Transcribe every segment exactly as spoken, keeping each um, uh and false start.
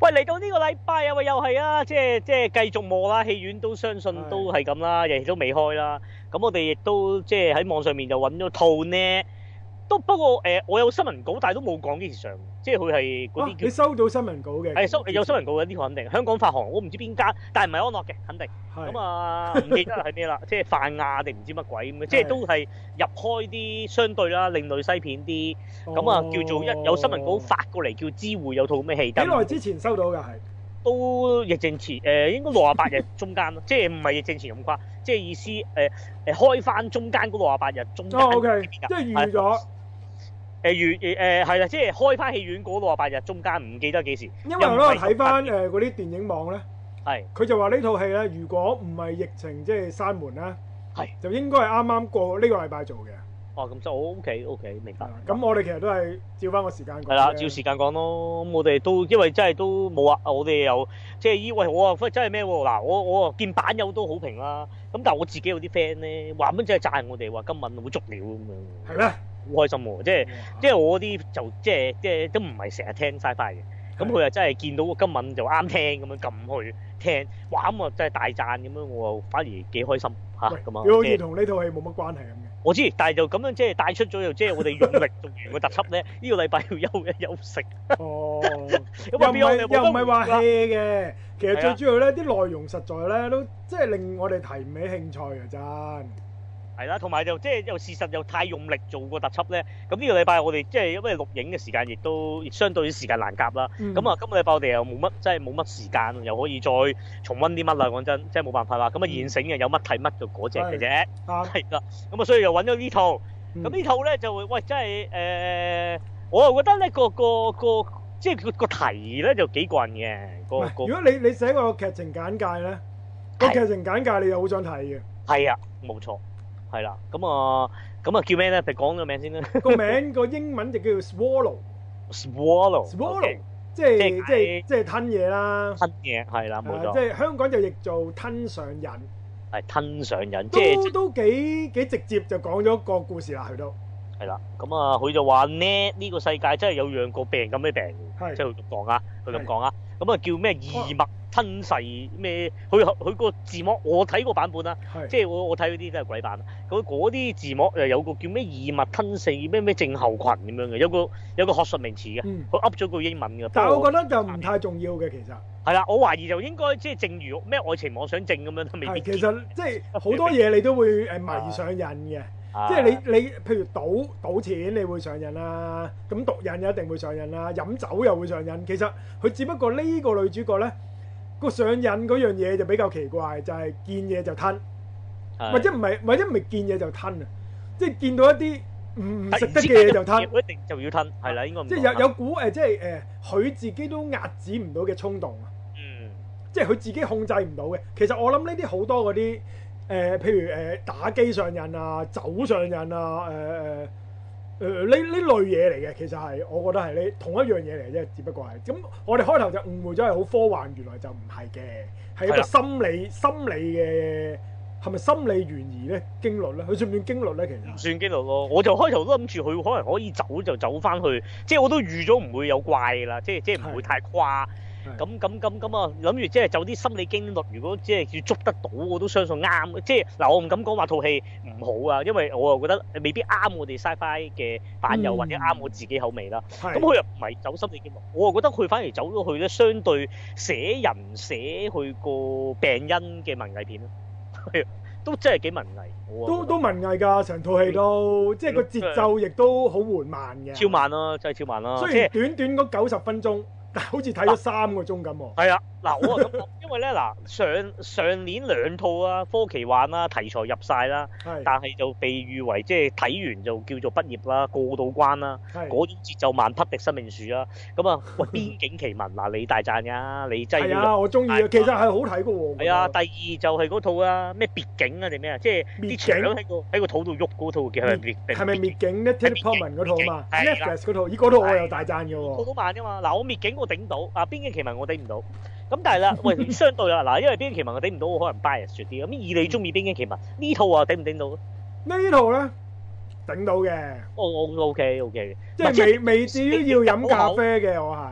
喂，嚟到呢個禮拜啊，喂，又係啊，即係即係繼續磨啦，戲院都相信都係咁啦，亦都未開啦。咁我哋亦都即係喺網上面就揾咗套呢，都不過誒、呃，我有新聞稿，但係都冇講幾時上，即係佢係嗰啲叫。 你收到新聞稿嘅？ 係收有新聞稿嘅呢套肯定，香港發行，我唔知邊間，但係唔係安樂嘅，肯定。咁啊，唔記得係咩啦，即係泛亞定唔知乜鬼咁嘅，即係都係入開啲相對啦，另類西片啲。咁啊，叫做一有新聞稿發過嚟，叫知會有套咩戲。 幾耐之前收到㗎？係都疫症前誒、呃，應該六十八日中間咯，即係唔係疫症前咁誇，即係意思誒誒、呃、開翻中間嗰六十八日中間。 哦，OK，即係預咗。 誒預誒誒係啦，即係開翻戲院嗰六十八日中間，唔記得幾時。 因為我睇翻誒嗰啲電影網咧， 係佢就話呢套戲咧，如果唔係疫情即係閂門咧， 係就應該係啱啱過呢個禮拜做嘅。 哦，咁就 O K O K，明白。 咁我哋其實都係照翻個時間講。 係啦，照時間講咯。咁我哋都因為真係都冇啊，我哋又即係依喂我啊，真係咩喎？嗱，我我見版友都好評啦。咁但係我自己有啲 friend 咧，話乜真係讚我哋話今敏好足料咁樣。 係咩？ 好開心喎！即係即係我啲就即係即係都唔係成日聽 Sci-Fi 嘅。咁佢又真係見到今敏就啱聽咁樣撳去聽，哇咁啊真係大讚咁樣，我又反而幾開心嚇咁啊！ 佢好似同呢套戲冇乜關係咁嘅。 我知，但係就咁樣即係帶出咗，又即係我哋用力做完個特輯咧，呢個禮拜要休一休息。 哦， 又唔係又唔係話 hea 嘅，其實最主要咧啲內容實在咧都即係令我哋提唔起興趣嘅真。 係啦，同埋就即係又事實又太用力做個特輯咧，咁呢個禮拜我哋即係因為錄影嘅時間亦都相對時間難夾啦。咁、嗯、啊，今個禮拜我哋又冇乜，即係冇乜時間，又可以再重溫啲乜啦。講真，即係冇辦法啦。咁啊，現成嘅有乜睇乜就嗰隻嘅啫。係啦，咁啊，所以又揾咗呢套。咁、嗯、呢套咧就喂，真係誒、呃，我又覺得咧個個個即係個個題咧就幾過癮嘅。個個如果你你寫個劇情簡介咧，個劇情簡介你又好想睇嘅。 係啊，冇錯。係啦，咁啊，咁啊叫咩咧？你講個名先啦。 個名個英文就叫做 swallow。 swallow。 swallow，即係即係即係吞嘢啦。 吞嘢係啦，冇錯。 即係香港就譯做吞上癮。 係吞上癮，即係都都幾幾直接就講咗個故事啦，佢都。 係啦，咁啊，佢就話呢呢個世界真係有樣個病咁嘅病，即係佢咁講啊，佢咁講啊，咁啊叫咩異物吞噬咩？佢佢個字幕我睇個版本啦，即係我我睇嗰啲都係鬼版，嗰嗰啲字幕又有個叫咩異物吞噬咩咩症候群咁樣嘅，有個有個學術名詞嘅，佢噏咗句英文嘅。 但係我覺得就唔太重要嘅其實。 係啦，我懷疑就應該即係正如咩愛情妄想症咁樣都未必。 其實即係好多嘢你都會誒迷上癮嘅。即係你你譬如賭賭錢你會上癮啦，咁毒癮一定會上癮啦，飲酒又會上癮。其實佢只不過呢個女主角咧個上癮嗰樣嘢就比較奇怪，就係見嘢就吞，或者唔係或者唔係見嘢就吞啊，即係見到一啲唔唔食得嘅嘢就吞， 一定就要吞，係啦，應該唔即係有有股誒，即係誒佢自己都壓止唔到嘅衝動啊，嗯，即係佢自己控制唔到嘅。其實我諗呢啲好多嗰啲。誒、呃，譬如誒、呃、打機上癮啊、酒上癮啊、誒誒誒呢呢類嘢嚟嘅，其實係我覺得係呢同一樣嘢嚟啫，只不過係咁。我哋開頭就誤會咗係好科幻，原來就唔係嘅，係一個心理心理嘅係咪心理懸疑咧？驚慄咧？佢算唔算驚慄咧？其實唔算驚慄咯，我就開頭都諗住佢可能可以走就走翻去，即係我都預咗唔會有怪㗎啦，即係即係唔會太誇。咁咁咁咁啊，諗住即係走啲心理驚慄，如果即係要捉得到，我都相信啱。即係嗱，我唔敢講話套戲唔好啊，因為我又覺得未必啱我哋 Sci-Fi 嘅版友、嗯、或者啱我自己口味啦。咁佢又唔係走心理驚慄，我又覺得佢反而走咗去咧，相對寫人寫佢個病因嘅文藝片咯，都真係幾文藝。 都都文藝㗎，成套戲都即係個節奏亦都好緩慢嘅。 超慢啦，真係超慢啦。 雖然短短嗰九十分鐘。但好似睇咗三個鐘咁喎。 係啊，嗱我啊咁講，因為咧嗱上上年兩套啊，科奇幻啦，題材入晒啦，但係就被譽為即係睇完就叫做畢業啦，過到關啦，嗰種節奏慢匹敵生命樹啦。咁啊，喂邊境奇聞嗱，你大讚㗎，你真係係啊，我中意啊，其實係好睇嘅喎。 係啊，第二就係嗰套啊，咩別境啊定咩啊，即係啲牆喺個喺個肚度喐嗰套叫係滅係咪滅境咧 Natalie Portman 嗰套嘛 Netflix 嗰套，咦嗰套我又大讚嘅喎。 好慢㗎嘛，嗱我滅境我頂到，啊邊境奇聞我頂唔到。咁但係啦，喂，相對啦，嗱，因為邊境奇聞我頂唔到，我可能 bias 啲。咁以你中意邊境奇聞呢套啊，頂唔頂到？ 呢套咧頂到嘅。 我我 OK OK 嘅， 即係未未至於要飲咖啡嘅，我係。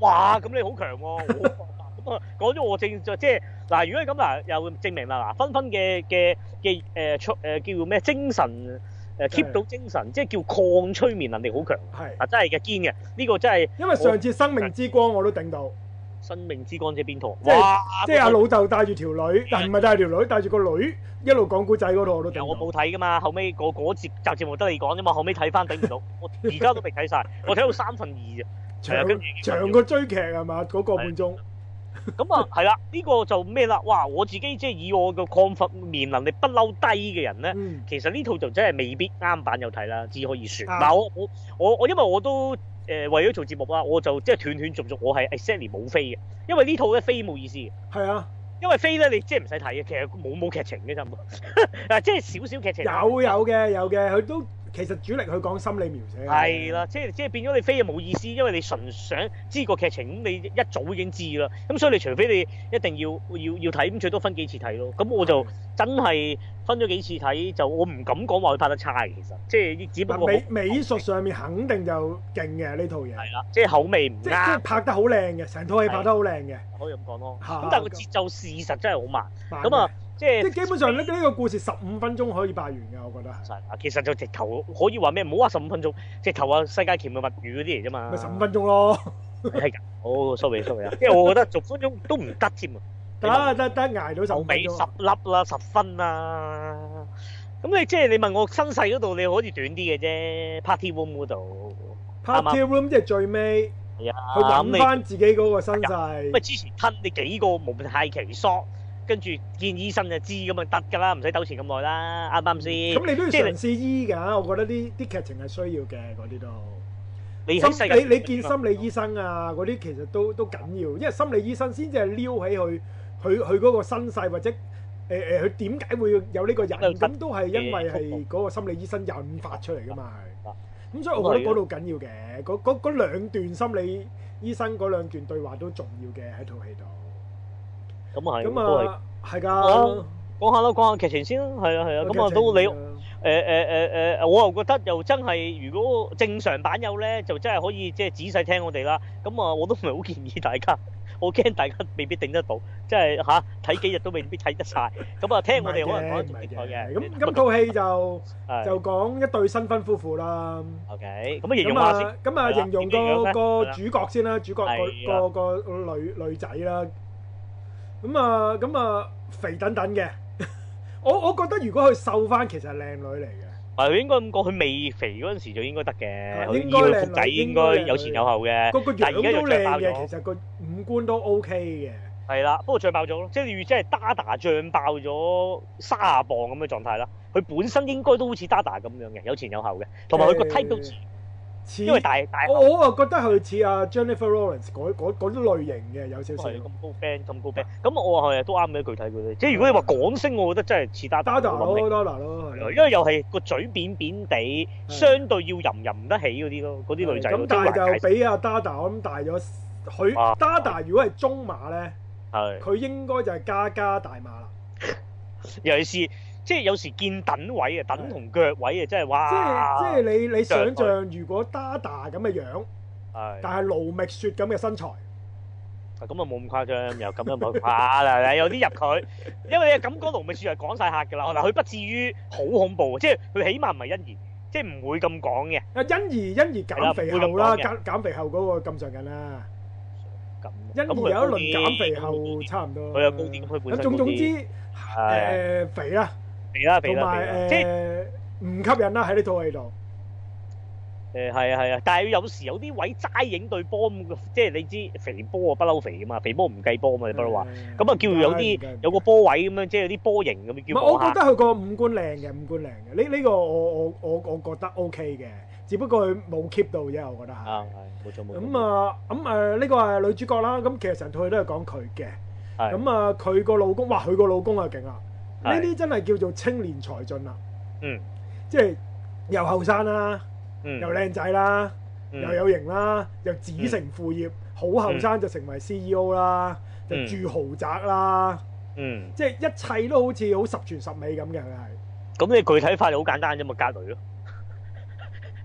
哇！咁你好強喎，咁啊講咗我正就即係嗱，如果係咁嗱，又證明啦嗱，分分嘅嘅嘅誒出誒叫咩精神誒 keep 到精神，即係叫抗催眠能力好強。 係啊，真係嘅堅嘅，呢個真係。 因為上次生命之光我都頂到。 生命之光即係邊套？ 即係即係阿老豆帶住條女，但唔係帶條女，帶住個女一路講古仔嗰度我都頂到。 我冇睇噶嘛，後尾嗰嗰節集節目得你講啫嘛，後尾睇翻頂唔到，我而家都未睇晒，我睇到三分二啫。 長長個追劇係嘛？嗰個半鐘。 咁啊，係啦，呢個就咩啦？哇！我自己即係以我個抗眠能力不嬲低嘅人咧， 嗯、 其實呢套就真係未必啱版有睇啦，只可以説。嗱、 啊， 我我我我因為我都誒、呃、為咗做節目啦，我就即係斷斷續續，我係 exactly 冇飛嘅，因為呢套咧飛冇意思嘅。 係啊， 因為飛咧你即係唔使睇嘅，其實冇冇劇情嘅啫，嗱即係少少劇情。 有有嘅有嘅，佢都。其實主力佢講心理描寫係啦，即係即係變咗你飛就冇意思，因為你純想知個劇情，咁你一早已經知啦。咁所以你除非你一定要要要睇，咁最多分幾次睇咯。咁我就真係分咗幾次睇，就我唔敢講話佢拍得差嘅，其實即係只不過美美術上面肯定就勁嘅呢套嘢。係啦，即係口味唔啱。即係拍得好靚嘅，成套戲拍得好靚嘅。可以咁講咯。咁但係個節奏事實真係好慢。咁啊。即係即係基本上呢呢個故事十五分鐘可以拍完嘅，我覺得係。 其實就直頭可以話咩？唔好話十五分鐘，直頭話世界奇妙物語嗰啲嚟啫嘛。 咪十五分鐘咯。 係㗎。好 sorry sorry 啊，因為我覺得十分鐘都唔得添啊。 得得得，捱到十五分鐘。 十粒啦，十分啦。咁你即係你問我身世嗰度，你可以短啲嘅啫。Party room 嗰度。 Party room 即係最尾。 係啊。 去揾翻自己嗰個身世。 咁啊，之前吞你幾個蒙太奇索。跟住見醫生就知咁啊得㗎啦，唔使糾纏咁耐啦，啱唔啱先？咁你都要嘗試醫㗎，我覺得啲啲劇情係需要嘅嗰啲都。 你心你你見心理醫生啊嗰啲其實都都緊要，因為心理醫生先至係撩起佢佢佢嗰個身世或者誒誒佢點解會有呢個人，咁都係因為係嗰個心理醫生引發出嚟㗎嘛係。咁所以我覺得嗰度緊要嘅，嗰嗰嗰兩段心理醫生嗰兩段對話都重要嘅喺套戲度。 咁啊係， 咁啊係㗎。 講下啦，講下劇情先啦，係啊係啊。咁啊都你誒誒誒誒，我又覺得又真係，如果正常版友咧，就真係可以即係仔細聽我哋啦。咁啊，我都唔係好建議大家，我驚大家未必頂得到，即係嚇睇幾日都未必睇得晒。咁啊，聽我哋可能講得仲精彩嘅。 咁咁套戲就就講一對新婚夫婦啦。 OK，咁啊形容下先。 咁啊形容個個主角先啦，主角個個個女女仔啦。咁啊，咁啊，肥等等嘅，我我覺得如果佢瘦翻，其實係靚女嚟嘅。 係佢應該咁講，佢未肥嗰陣時就應該得嘅。 應該靚女， 仔應該有前有後嘅。 個個樣都靚嘅，其實個五官都 OK 嘅。 係啦，不過脹爆咗咯，即係你即係 Dada 脹爆咗卅磅咁嘅狀態啦。佢本身應該都好似 Dada 咁樣嘅，有前有後嘅，同埋佢個 type 都似。因為大大我我啊覺得佢似阿 Jennifer Lawrence 嗰嗰嗰啲類型嘅有少少。 係咁高 band 咁高 band，咁我話係都啱嘅，具體佢哋。即係如果你話港星，我覺得真係似 Dada 咯 Dada 咯， 因為又係個嘴扁扁地，相對要吟吟唔得起嗰啲咯，嗰啲女仔。 咁但係就比阿 Dada 我諗大咗，佢 Dada 如果係中碼咧，係佢應該就係加加大碼啦。 尤其是。即係有時見等位啊，等同腳位啊，真係哇！ 即係即係你你想象，如果 Dada 咁嘅樣，係，但係盧覓雪咁嘅身材， 咁啊冇咁誇張，又咁樣冇誇啦，有啲入佢，因為你咁講盧覓雪係講晒客㗎啦，嗱佢不至於好恐怖，即係佢起碼唔係欣宜，即係唔會咁講嘅。 啊欣宜欣宜減肥後啦，減減肥後嗰個咁上緊啦。咁欣宜有一輪減肥後差唔多。佢有高啲，佢本身。咁總總之誒肥啦。 肥啦肥啦， 同埋誒唔吸引啦喺呢套戲度。 誒係啊係啊，但係有時有啲位齋影對波咁，即係你知肥波啊不嬲肥噶嘛，肥波唔計波嘛，你不嬲話。咁啊叫有啲有個波位咁樣，即係有啲波形咁樣叫。 我覺得佢個五官靚嘅，五官靚嘅。呢呢個我我我我覺得 OK 嘅，只不過佢冇 keep 到啫，我覺得係。啊係，冇錯冇錯。咁啊咁誒呢個係女主角啦，咁其實成套戲都係講佢嘅。係。咁啊佢個老公，哇佢個老公啊勁啊！呢啲真係叫做青年才俊啦，嗯，即係又後生啦，嗯，又靚仔啦，嗯，又有型啦，又子承父業，好後生就成為 C E O 啦，嗯，就住豪宅啦，嗯，即係一切都好似好十全十美咁嘅佢係。 咁你具體化就好簡單啫嘛，隔離咯。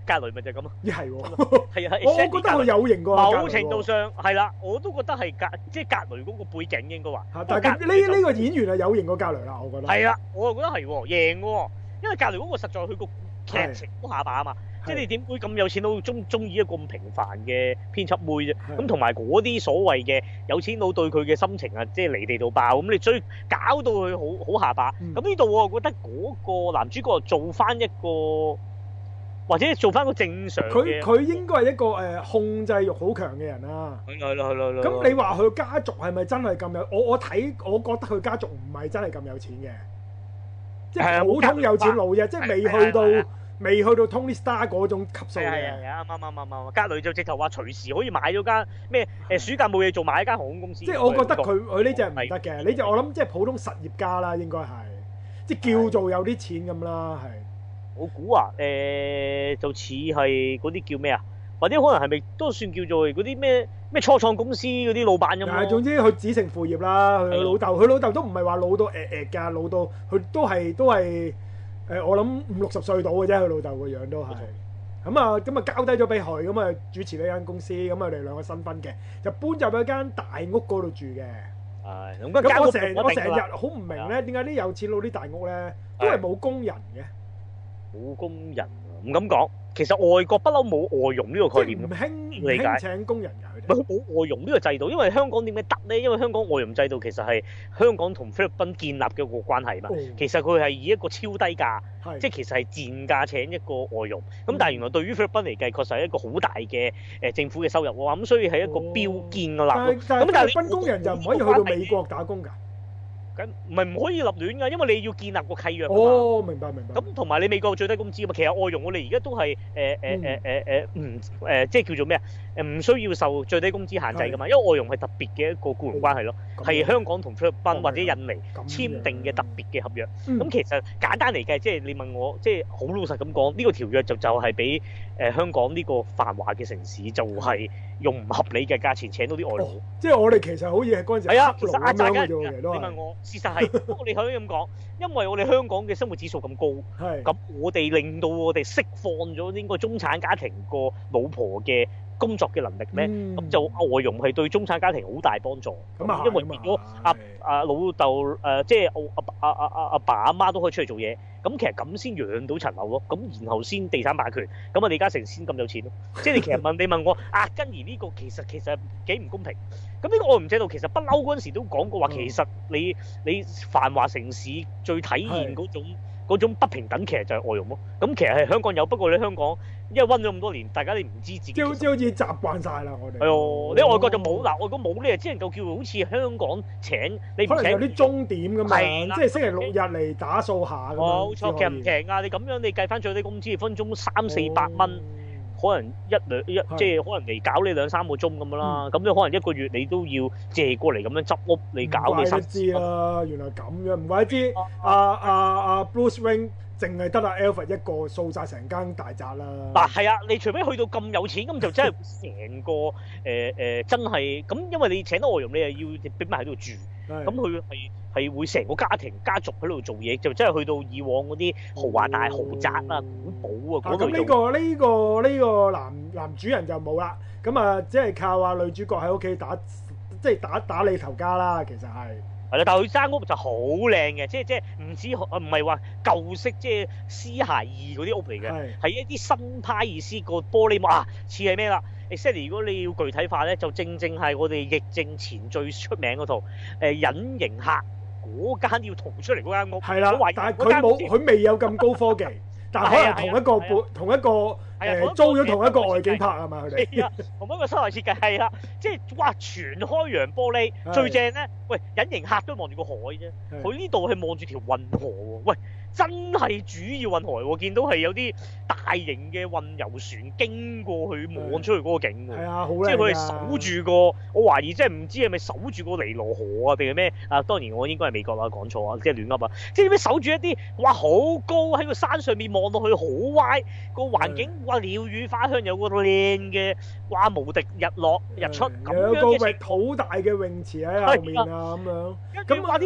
格雷咪就係咁咯。 咦係喎， 係啊， 我我覺得佢有型過。 某程度上係啦，我都覺得係格即係格雷嗰個背景應該話。 但係呢呢個演員係有型過格雷啦，我覺得。 係啊，我又覺得係喎，贏喎，因為格雷嗰個實在佢個劇情都下把啊嘛。即係你點會咁有錢佬中中意一個咁平凡嘅編輯妹啫？咁同埋嗰啲所謂嘅有錢佬對佢嘅心情啊，即係離地到爆咁，你追搞到佢好好下巴。咁呢度我覺得嗰個男主角做翻一個，或者做翻個正常嘅。佢佢應該係一個誒控制欲好強嘅人啦。係咯係咯係咯。咁你話佢家族係咪真係咁有？我我睇我覺得佢家族唔係真係咁有錢嘅，即係普通有錢佬啫，即係未去到。未去到 Tony Stark 嗰種級數嘅。係啊，啱啱啱啱啱。格雷就直頭話隨時可以買咗間咩誒暑假冇嘢做買一間航空公司。即係我覺得佢佢呢隻唔得嘅，呢隻我諗即係普通實業家啦，應該係即係叫做有啲錢咁啦，係。我估啊誒就似係嗰啲叫咩啊？或者可能係咪都算叫做嗰啲咩咩初創公司嗰啲老闆咁咯？係，總之佢子承父業啦。佢老豆佢老豆都唔係話老到誒誒㗎，老到佢都係都係。誒我諗五六十歲到嘅啫，佢老豆個樣都係咁啊，咁啊交低咗俾佢，咁啊主持呢間公司，咁啊佢哋兩個新婚嘅，就搬入咗間大屋嗰度住嘅。係咁，咁我成我成日好唔明咧，點解啲有錢佬啲大屋咧都係冇工人嘅？冇工人唔敢講。其實外國不嬲冇外傭呢個概念，唔興唔興請工人㗎，佢哋冇外傭呢個制度，因為香港點解得咧？因為香港外傭制度其實係香港同菲律賓建立嘅一個關係嘛。哦、其實佢係以一個超低價，是即係其實係賤價請一個外傭。咁、嗯、但係原來對於菲律賓嚟計，確實係一個好大嘅誒政府嘅收入喎。咁所以係一個標建嘅立。咁但係菲律賓工人就唔可以去到美國打工㗎。咁唔係唔可以立亂㗎，因為你要建立個契約㗎嘛。哦，明白明白。咁同埋你美國最低工資啊嘛，其實外傭我哋而家都係誒誒誒誒誒唔誒，即係叫做咩啊？誒唔需要受最低工資限制㗎嘛，因為外傭係特別嘅一個僱傭關係咯，係香港同菲律賓或者印尼簽訂嘅特別嘅合約。咁其實簡單嚟計，即係你問我，即係好老實咁講，呢個條約就就係俾誒香港呢個繁華嘅城市就係用唔合理嘅價錢請到啲外勞。即係我哋其實好似係嗰陣時係啊，其實壓榨緊嘅。你問我。事實係，不過你可以咁講，因為我哋香港嘅生活指數咁高，咁我哋令到我哋釋放咗應該中產家庭個老婆嘅工作嘅能力咧，咁、嗯、就外傭係對中產家庭好大幫助。咁啊，因為如果阿阿老豆誒，即係阿阿阿阿阿爸阿媽都可以出嚟做嘢，咁其實咁先養到層樓咯。咁然後先地產霸權，咁啊李嘉誠先咁有錢咯。即係你其實問你問我啊，根兒呢個其實其實幾唔公平。咁呢個外傭制度其實不嬲嗰陣時都講過話，其實你你繁華城市最體現嗰種嗰種不平等，其實就係外傭咯。咁其實係香港有，不過你香港因為溫咗咁多年，大家你唔知自己即係好似好似習慣晒啦，我哋係哦。你外國就冇嗱，外國冇咧，只能夠叫好似香港請你唔請。可能有啲鐘點咁樣，即係星期六日嚟打掃下咁樣。冇錯，其實唔平啊！你咁樣你計翻最低工資，分鐘三四百蚊。可能一兩一即係可能嚟搞你兩三個鐘咁樣啦，咁你、嗯、可能一個月你都要借過嚟咁樣執屋你搞嘅生活。唔怪得知啦，原來咁樣，唔怪得知阿阿阿 Bruce Wayne 淨係得阿 Alfred 一個掃晒成間大宅啦。嗱係啊，你除非去到咁有錢，咁就真係成個誒誒、呃呃、真係咁，因為你請到外傭，你又要俾埋喺度住，咁佢係。係會成個家庭家族喺度做嘢，就真係去到以往嗰啲豪華大豪宅啊、古堡啊嗰度做。咁呢個呢個呢個男男主人就冇啦，咁啊只係靠啊女主角喺屋企打，即係打打理頭家啦。其實係係啦，但係佢間屋就好靚嘅，即係即係唔止唔係話舊式即係絲鞋意嗰啲屋嚟嘅，係一啲新派意思個玻璃幕啊，似係咩啦？exactly 如果你要具體化咧，就正正係我哋疫症前最出名嗰套誒隱形客。嗰間要同出嚟嗰間屋，係啦，但係佢冇，佢未有咁高科技，但係可能同一個半，同一個誒租咗同一個外景拍係嘛佢哋？係啊，同一個室內設計係啦，即係哇全開揚玻璃，最正咧，喂隱形客都望住個海啫，佢呢度係望住條運河喎，喂。真係主要運河喎，見到係有啲大型嘅運油船經過去望出去嗰個景喎，係啊，好靚啊！即係佢係守住個，我懷疑即係唔知係咪守住個尼羅河啊定係咩啊？當然我應該係美國啦，講錯啊，即係亂噏啊！即係點樣守住一啲哇好高喺個山上面望落去好歪個環境，哇鳥語花香，有個靚嘅哇無敵日落日出咁樣嘅，有個域好大嘅泳池喺後面啊咁樣，咁話啲。嗰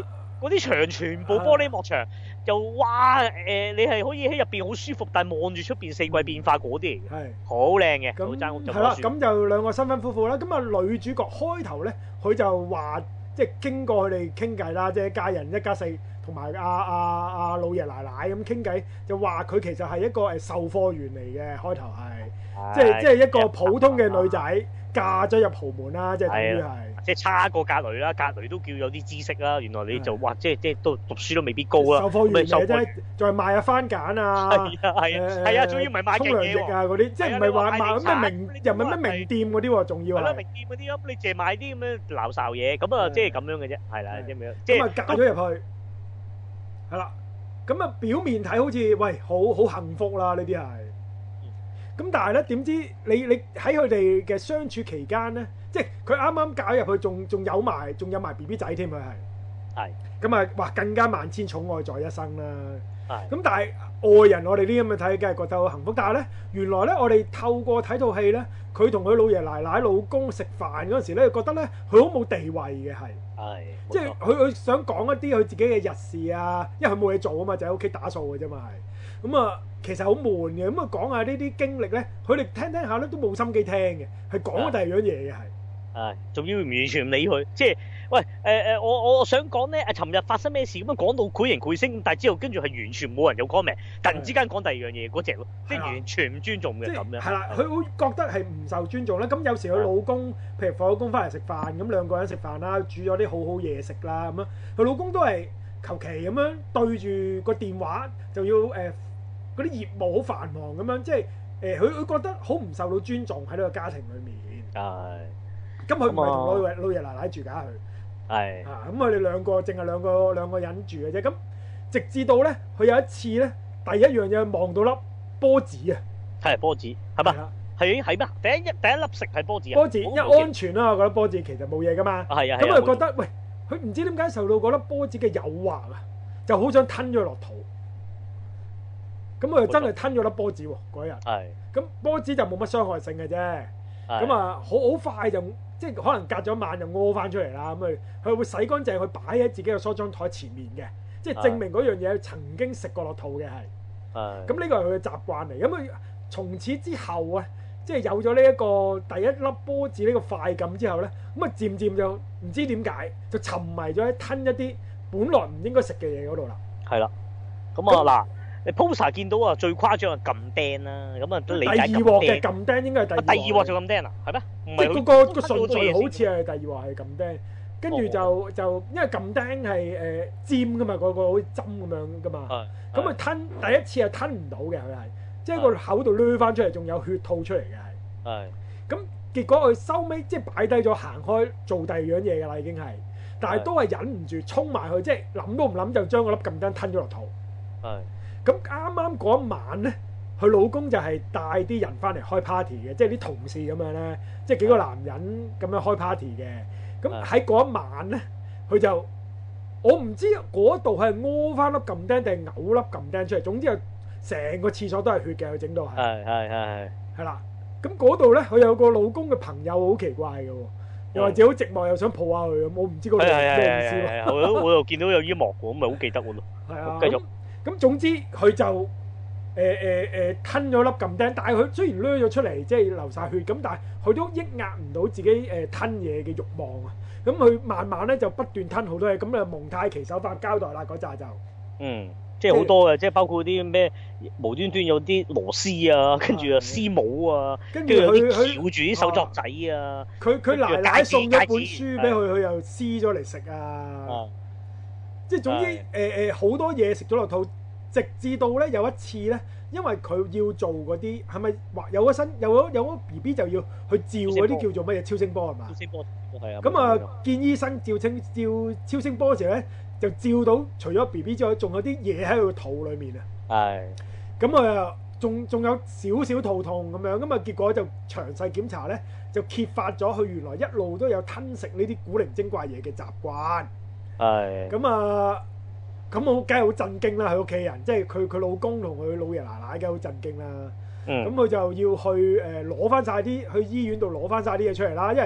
嗰啲牆全部玻璃幕牆，又哇誒、呃，你係可以喺入邊好舒服，但係望住出邊四季變化嗰啲嚟嘅，係好靚嘅。 咁間屋就係啦，咁就兩個新婚夫婦啦。咁啊女主角開頭咧，佢就話即係經過佢哋傾偈啦，即係一家人一家四同埋阿阿阿老爺奶奶咁傾偈，就話佢其實係一個誒售貨員嚟嘅，開頭係即係即係一個普通嘅女仔嫁咗入豪門啦，即係等於係。 即係差過格雷啦，格雷都叫有啲知識啦。原來你就哇，即係即係都讀書都未必高啦。 售貨員嚟啫，仲係賣下番梘啊， 係啊係啊，係啊，仲要唔係賣勁嘢喎。 啊嗰啲，即係唔係話賣咩名，又唔係咩名店嗰啲喎，仲要係。係啦， 名店嗰啲咁，你淨係買啲咁樣鬧哨嘢，咁啊，即係咁樣嘅啫，係啦，咁樣。即係咁啊，嫁咗入去，係啦。咁啊，表面睇好似喂，好好幸福啦，呢啲係。咁但係咧，點知你你喺佢哋嘅相處期間咧？即係佢啱啱嫁入去，仲仲有埋，仲有埋 B B 仔添，佢係。係。咁啊，哇！更加萬千寵愛在一生啦。係。咁但係外人，我哋呢啲咁嘅睇，梗係覺得好幸福。但係咧，原來咧，我哋透過睇套戲咧，佢同佢老爺奶奶、老公食飯嗰陣時咧，覺得咧，佢好冇地位嘅係。係。即係佢佢想講一啲佢自己嘅日事啊，因為佢冇嘢做啊嘛，就喺屋企打掃嘅啫嘛係。咁啊，其實好悶嘅。咁啊，講下呢啲經歷咧，佢哋聽聽下咧都冇心機聽嘅，係講第二樣嘢嘅係。係， 仲要完全唔理佢，即係喂誒誒、呃，我我我想講咧，啊，尋日發生咩事咁樣講到繪形繪聲，但係之後跟住係完全冇人有 comment，突然之間講第二樣嘢嗰隻咯，即係完全唔尊重嘅咁樣。係啦，佢會覺得係唔受尊重啦。咁有時佢老公，譬如放咗工翻嚟食飯，咁兩個人食飯啦，煮咗啲好好嘢食啦，咁樣佢老公都係求其咁樣對住個電話，就要誒嗰啲業務好繁忙咁樣，即係誒佢佢覺得好唔受到尊重喺呢個家庭裏面。係。咁佢唔係同老爺老爺奶奶住㗎，佢係啊，咁佢哋兩個淨係兩個兩個人住嘅啫。咁直至到咧，佢有一次咧，第一樣嘢望到粒波子啊，係波子係嘛？係係咩？第一一第一粒食係波子啊！波子因為安全啦，我覺得波子其實冇嘢㗎嘛。係啊，咁佢覺得喂，佢唔知點解受到嗰粒波子嘅誘惑啊，就好想吞咗落肚。咁佢就真係吞咗粒波子喎嗰日。係。咁波子就冇乜傷害性嘅啫。咁啊，好好快就。即係可能隔咗晚就屙翻出嚟啦，咁佢佢會洗乾淨，佢擺喺自己嘅梳妝台前面嘅，即係證明嗰樣嘢曾經食過落肚嘅係。係。咁呢個係佢嘅習慣嚟，咁佢從此之後啊，即係有咗呢一個第一粒波子呢個快感之後咧，咁啊漸漸就唔知點解就沉迷咗喺吞一啲本來唔應該食嘅嘢嗰度啦。係啦。咁啊嗱。你 poster 見到啊，最誇張係撳釘啦，咁啊都理解撳釘。第二鑊嘅撳釘應該係第二。第二鑊就撳釘啊，係咩？即係嗰個個順序好似係第二鑊係撳釘，跟住就就因為撳釘係誒尖噶嘛，個個好似針咁樣噶嘛。咁佢吞第一次係吞唔到嘅，佢係即係個口度掠翻出嚟，仲有血吐出嚟嘅係。係。咁結果佢收尾即係擺低咗行開做第二樣嘢㗎啦，已經係，但係都係忍唔住衝埋去，即係諗都唔諗就將嗰粒撳釘吞咗落肚。係。咁啱啱嗰一晚咧，佢老公就係帶啲人翻嚟開 party 嘅，即係啲同事咁樣咧，即係幾個男人咁樣開 party 嘅。咁喺嗰一晚咧，佢就我唔知嗰度係屙翻粒撳釘定係嘔粒撳釘出嚟，總之係成個廁所都係血嘅，佢整到係。係係係係。係啦，咁嗰度咧，佢有個老公嘅朋友好奇怪嘅喎，又或者好寂寞，又想抱下佢咁，我唔知嗰度咩意思喎。我我又見到有啲幕喎，咁咪好記得喎。係啊，繼續。咁總之佢就誒誒誒吞咗粒撳釘，但係佢雖然掠咗出嚟，即係流晒血咁，但係佢都抑壓唔到自己誒吞嘢嘅慾望啊！咁佢慢慢咧就不斷吞好多嘢，咁啊蒙太奇手法交代啦嗰扎就嗯，即係好多嘅，即係包括啲咩無端端有啲螺絲啊，跟住啊絲母啊，跟住有啲翹住啲手作仔啊，佢佢奶奶送咗本書俾佢，佢又撕咗嚟食啊！即係總之，誒誒好多嘢食咗落肚，直至到咧有一次咧，因為佢要做嗰啲係咪話有個身有個有個 B B 就要去照嗰啲叫做乜嘢超聲波係嘛？超聲波係啊。咁啊，見醫生照清照超聲波嘅時候咧，就照到除咗 B B 之外，仲有啲嘢喺佢個肚裡面啊。係。咁啊，仲仲有少少肚痛咁樣，咁啊結果就詳細檢查咧，就揭發咗佢原來一路都有吞食呢啲古靈精怪嘢嘅習慣。係咁啊，咁我梗係好震驚啦！佢屋企人，即係佢佢老公同佢老爺奶奶，梗係好震驚啦。咁佢就要去誒攞翻晒啲去醫院度攞翻晒啲嘢出嚟啦，因為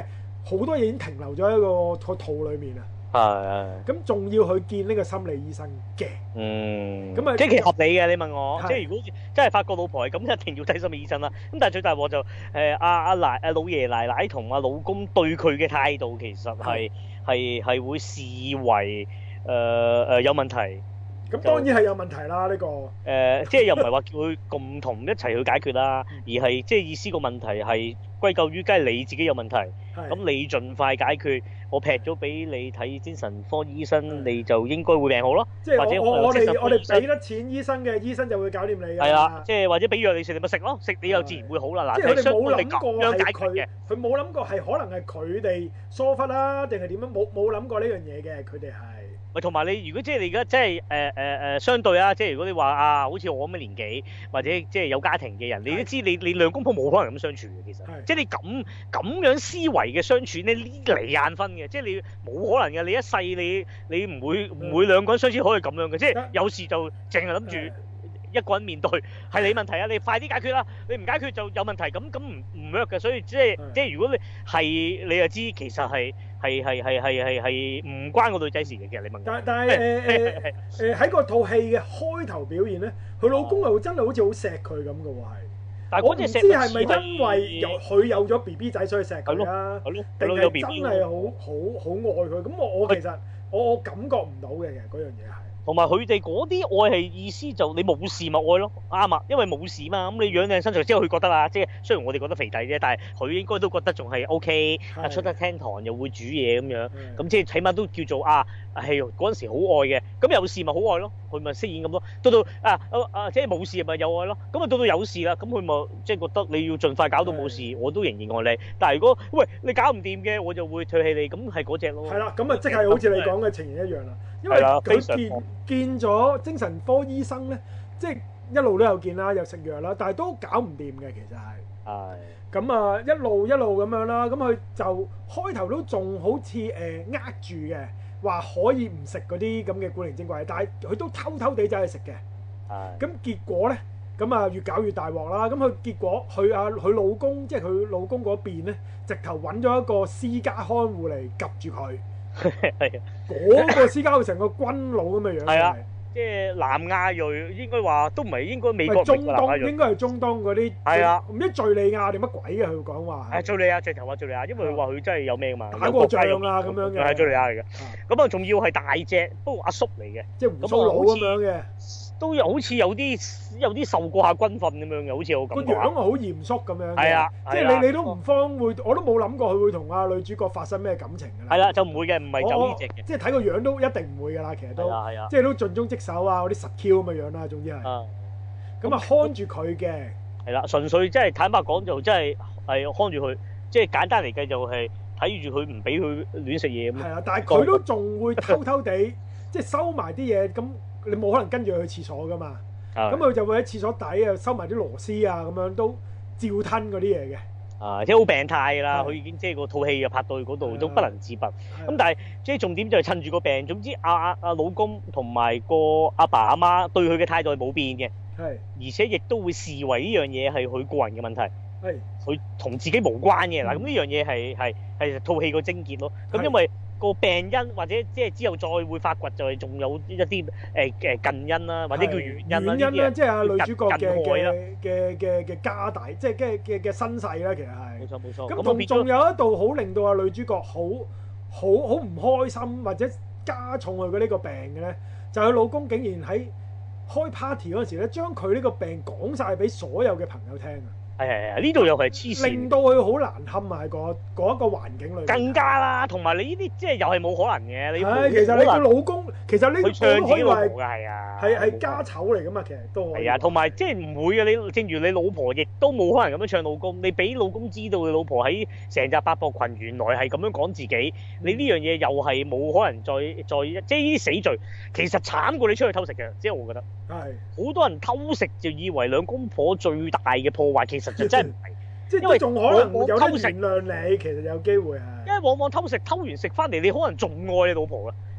好多嘢已經停留咗喺個個肚裡面啊。 係。 咁仲要去見呢個心理醫生嘅。 嗯。 咁啊， 即係其實合理嘅，你問我，即係如果真係發覺老婆係咁，一定要睇心理醫生啦。咁但係最大鑊就誒阿阿奶阿老爺奶奶同阿老公對佢嘅態度，其實係係係會視為誒誒、呃、有問題。 咁當然係有問題啦，呢、呢個誒、 呃，即係又唔係話叫佢共同一齊去解決啦，而係即係意思個問題係歸咎於，梗係你自己有問題，咁你盡快解決，我劈咗俾你睇精神科醫生，你就應該會病好咯。 即係或者我我哋我哋俾得錢醫生嘅，醫生就會搞掂你㗎。係啦， 即係或者俾藥你食，你咪食咯，食你又自然會好啦。嗱， 即係佢哋冇諗過係係佢，佢冇諗過係可能係佢哋疏忽啦，定係點樣？冇冇諗過呢樣嘢嘅，佢哋係。 喂，同埋你如果即係你而家即係誒誒誒相對啊，即係如果你話啊，好似我咁嘅年紀，或者即係有家庭嘅人，你都知你你兩公婆冇可能咁相處嘅，其實，即係你咁咁樣思維嘅相處咧，呢離眼分嘅，即係你冇可能嘅，你一世你你唔會唔會兩個人相處可以咁樣嘅，即係有事就淨係諗住一個人面對，係你問題啊，你快啲解決啦，你唔解決就有問題，咁咁唔唔 work 嘅，所以即係即係如果你係你就知其實係。係係係係係係唔關個女仔事嘅，其實你問。 但但係誒誒誒喺個套戲嘅開頭表現咧，佢老公又真係好似好錫佢咁嘅喎，係。但係我唔知係咪因為有佢有咗 B B 仔所以錫佢啦，定係真係好好好愛佢？咁我我其實我我感覺唔到嘅，其實嗰樣嘢係。同埋佢哋嗰啲愛係意思就你冇事咪愛咯，啱啊，因為冇事嘛，咁你養靚身材之後佢覺得啦，即係雖然我哋覺得肥仔啫，但係佢應該都覺得仲係 O K， 啊出得廳堂又會煮嘢咁樣，咁即係起碼都叫做啊係嗰陣時好愛嘅，咁有事咪好愛咯，佢咪飾演咁咯，到到啊啊啊即係冇事咪有愛咯，咁啊到到有事啦，咁佢咪即係覺得你要盡快搞到冇事，我都仍然愛你，但係如果喂你搞唔掂嘅，我就會唾棄你，咁係嗰隻咯。係啦，咁啊即係好似你講嘅情形一樣啦。因為佢見見咗精神科醫生咧，即係一路都有見啦，有食藥啦，但係都搞唔掂嘅，其實係。係。咁啊，一路一路咁樣啦，咁佢就開頭都仲好似誒呃住嘅，話可以唔食嗰啲咁嘅古靈精怪，但係佢都偷偷地走去食嘅。係。咁結果咧，咁啊越搞越大鑊啦。咁佢結果佢啊佢老公，即係佢老公嗰邊咧，直頭揾咗一個私家看護嚟及住佢。係啊，嗰個私家好似成個軍佬咁嘅樣。係啊，即係南亞裔，應該話都唔係應該美國。中東應該係中東嗰啲。係啊，唔知敍利亞定乜鬼嘅佢講話。係敍利亞，直頭話敍利亞，因為佢話佢真係有咩嘛，打過仗啊咁樣嘅。係敍利亞嚟嘅，咁啊仲要係大隻，不過阿叔嚟嘅，即係鬍鬚佬咁樣嘅。都有好似有啲有啲受過下軍訓咁樣嘅，好似我咁。個樣係好嚴肅咁樣嘅。係啊，即係你你都唔方會，我都冇諗過佢會同阿女主角發生咩感情㗎啦。係啦，就唔會嘅，唔係就呢隻嘅。即係睇個樣都一定唔會㗎啦，其實都。係啊係啊。即係都盡忠職守啊，嗰啲實 Q 咁嘅樣啦，總之係。啊。咁啊，看住佢嘅。係啦，純粹即係坦白講就真係係看住佢，即係簡單嚟計就係睇住佢唔俾佢亂食嘢咁。係啊，但係佢都仲會偷偷地即係收埋啲嘢咁。你冇可能跟住佢去廁所噶嘛？咁佢就會喺廁所底啊收埋啲螺絲啊，咁樣都照吞嗰啲嘢嘅。啊，即係好病態啦！佢已經即係個套戲啊拍到去嗰度都不能自拔。咁但係即係重點就係趁住個病。總之阿阿阿老公同埋個阿爸阿媽對佢嘅態度係冇變嘅。係。而且亦都會視為呢樣嘢係佢個人嘅問題。係。佢同自己無關嘅嗱，咁呢樣嘢係係係套戲個症結咯。咁因為個病因或者即係之後再會發掘，就係仲有一啲誒誒近因啦，或者叫原因啦。原因啦，即係阿女主角嘅嘅嘅嘅嘅家底，即係嘅嘅嘅身世啦，其實係。冇錯冇錯。咁同仲有一度好令到阿女主角好好好唔開心，或者加重佢嘅呢個病嘅咧，就係佢老公竟然喺開 party 嗰陣時咧，將佢呢個病講曬俾所有嘅朋友聽啊！係係係，呢度又係黐線，令到佢好難堪啊！喺嗰嗰一個環境裏面，更加啦。同埋你呢啲即係又係冇可能嘅。你係其實你個老公，其實呢個可以話係係係家醜嚟噶嘛。其實都係啊，同埋即係唔會嘅。你正如你老婆亦都冇可能咁樣唱老公。你俾老公知道你老婆喺成隻八博群原來係咁樣講自己，你呢樣嘢又係冇可能再再即係呢啲死罪。其實慘過你出去偷食嘅，即係我覺得係好多人偷食就以為兩公婆最大嘅破壞，其實就真係唔係，即係因為仲可能有得原諒你，其實有機會係。因為往往偷食偷完食翻嚟，你可能仲愛你老婆啦。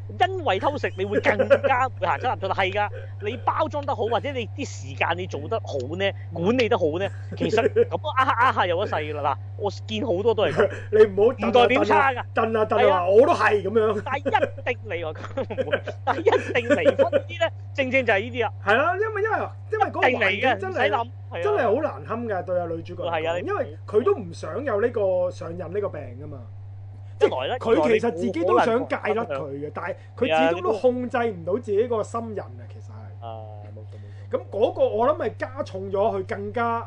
因為偷食，你會更加會行差踏錯。係㗎，你包裝得好，或者你啲時間你做得好咧，管理得好咧，其實咁呃下呃下有一世㗎啦。嗱，我見好多都係咁。 你唔好唔代表差㗎， 燉啊燉啊，我都係咁樣。 但係一定離喎，但係一定離婚啲咧，正正就係呢啲啊。 係啦，因為因為因為嗰個環境真係真係好難堪㗎，對阿女主角。 係啊， 因為佢都唔想有呢個上癮呢個病㗎嘛。 一來咧， 佢其實自己都想戒甩佢嘅，但係佢始終都控制唔到自己個心癮啊。其實係。 啊，冇錯冇錯。 咁嗰個我諗係加重咗佢更加誒誒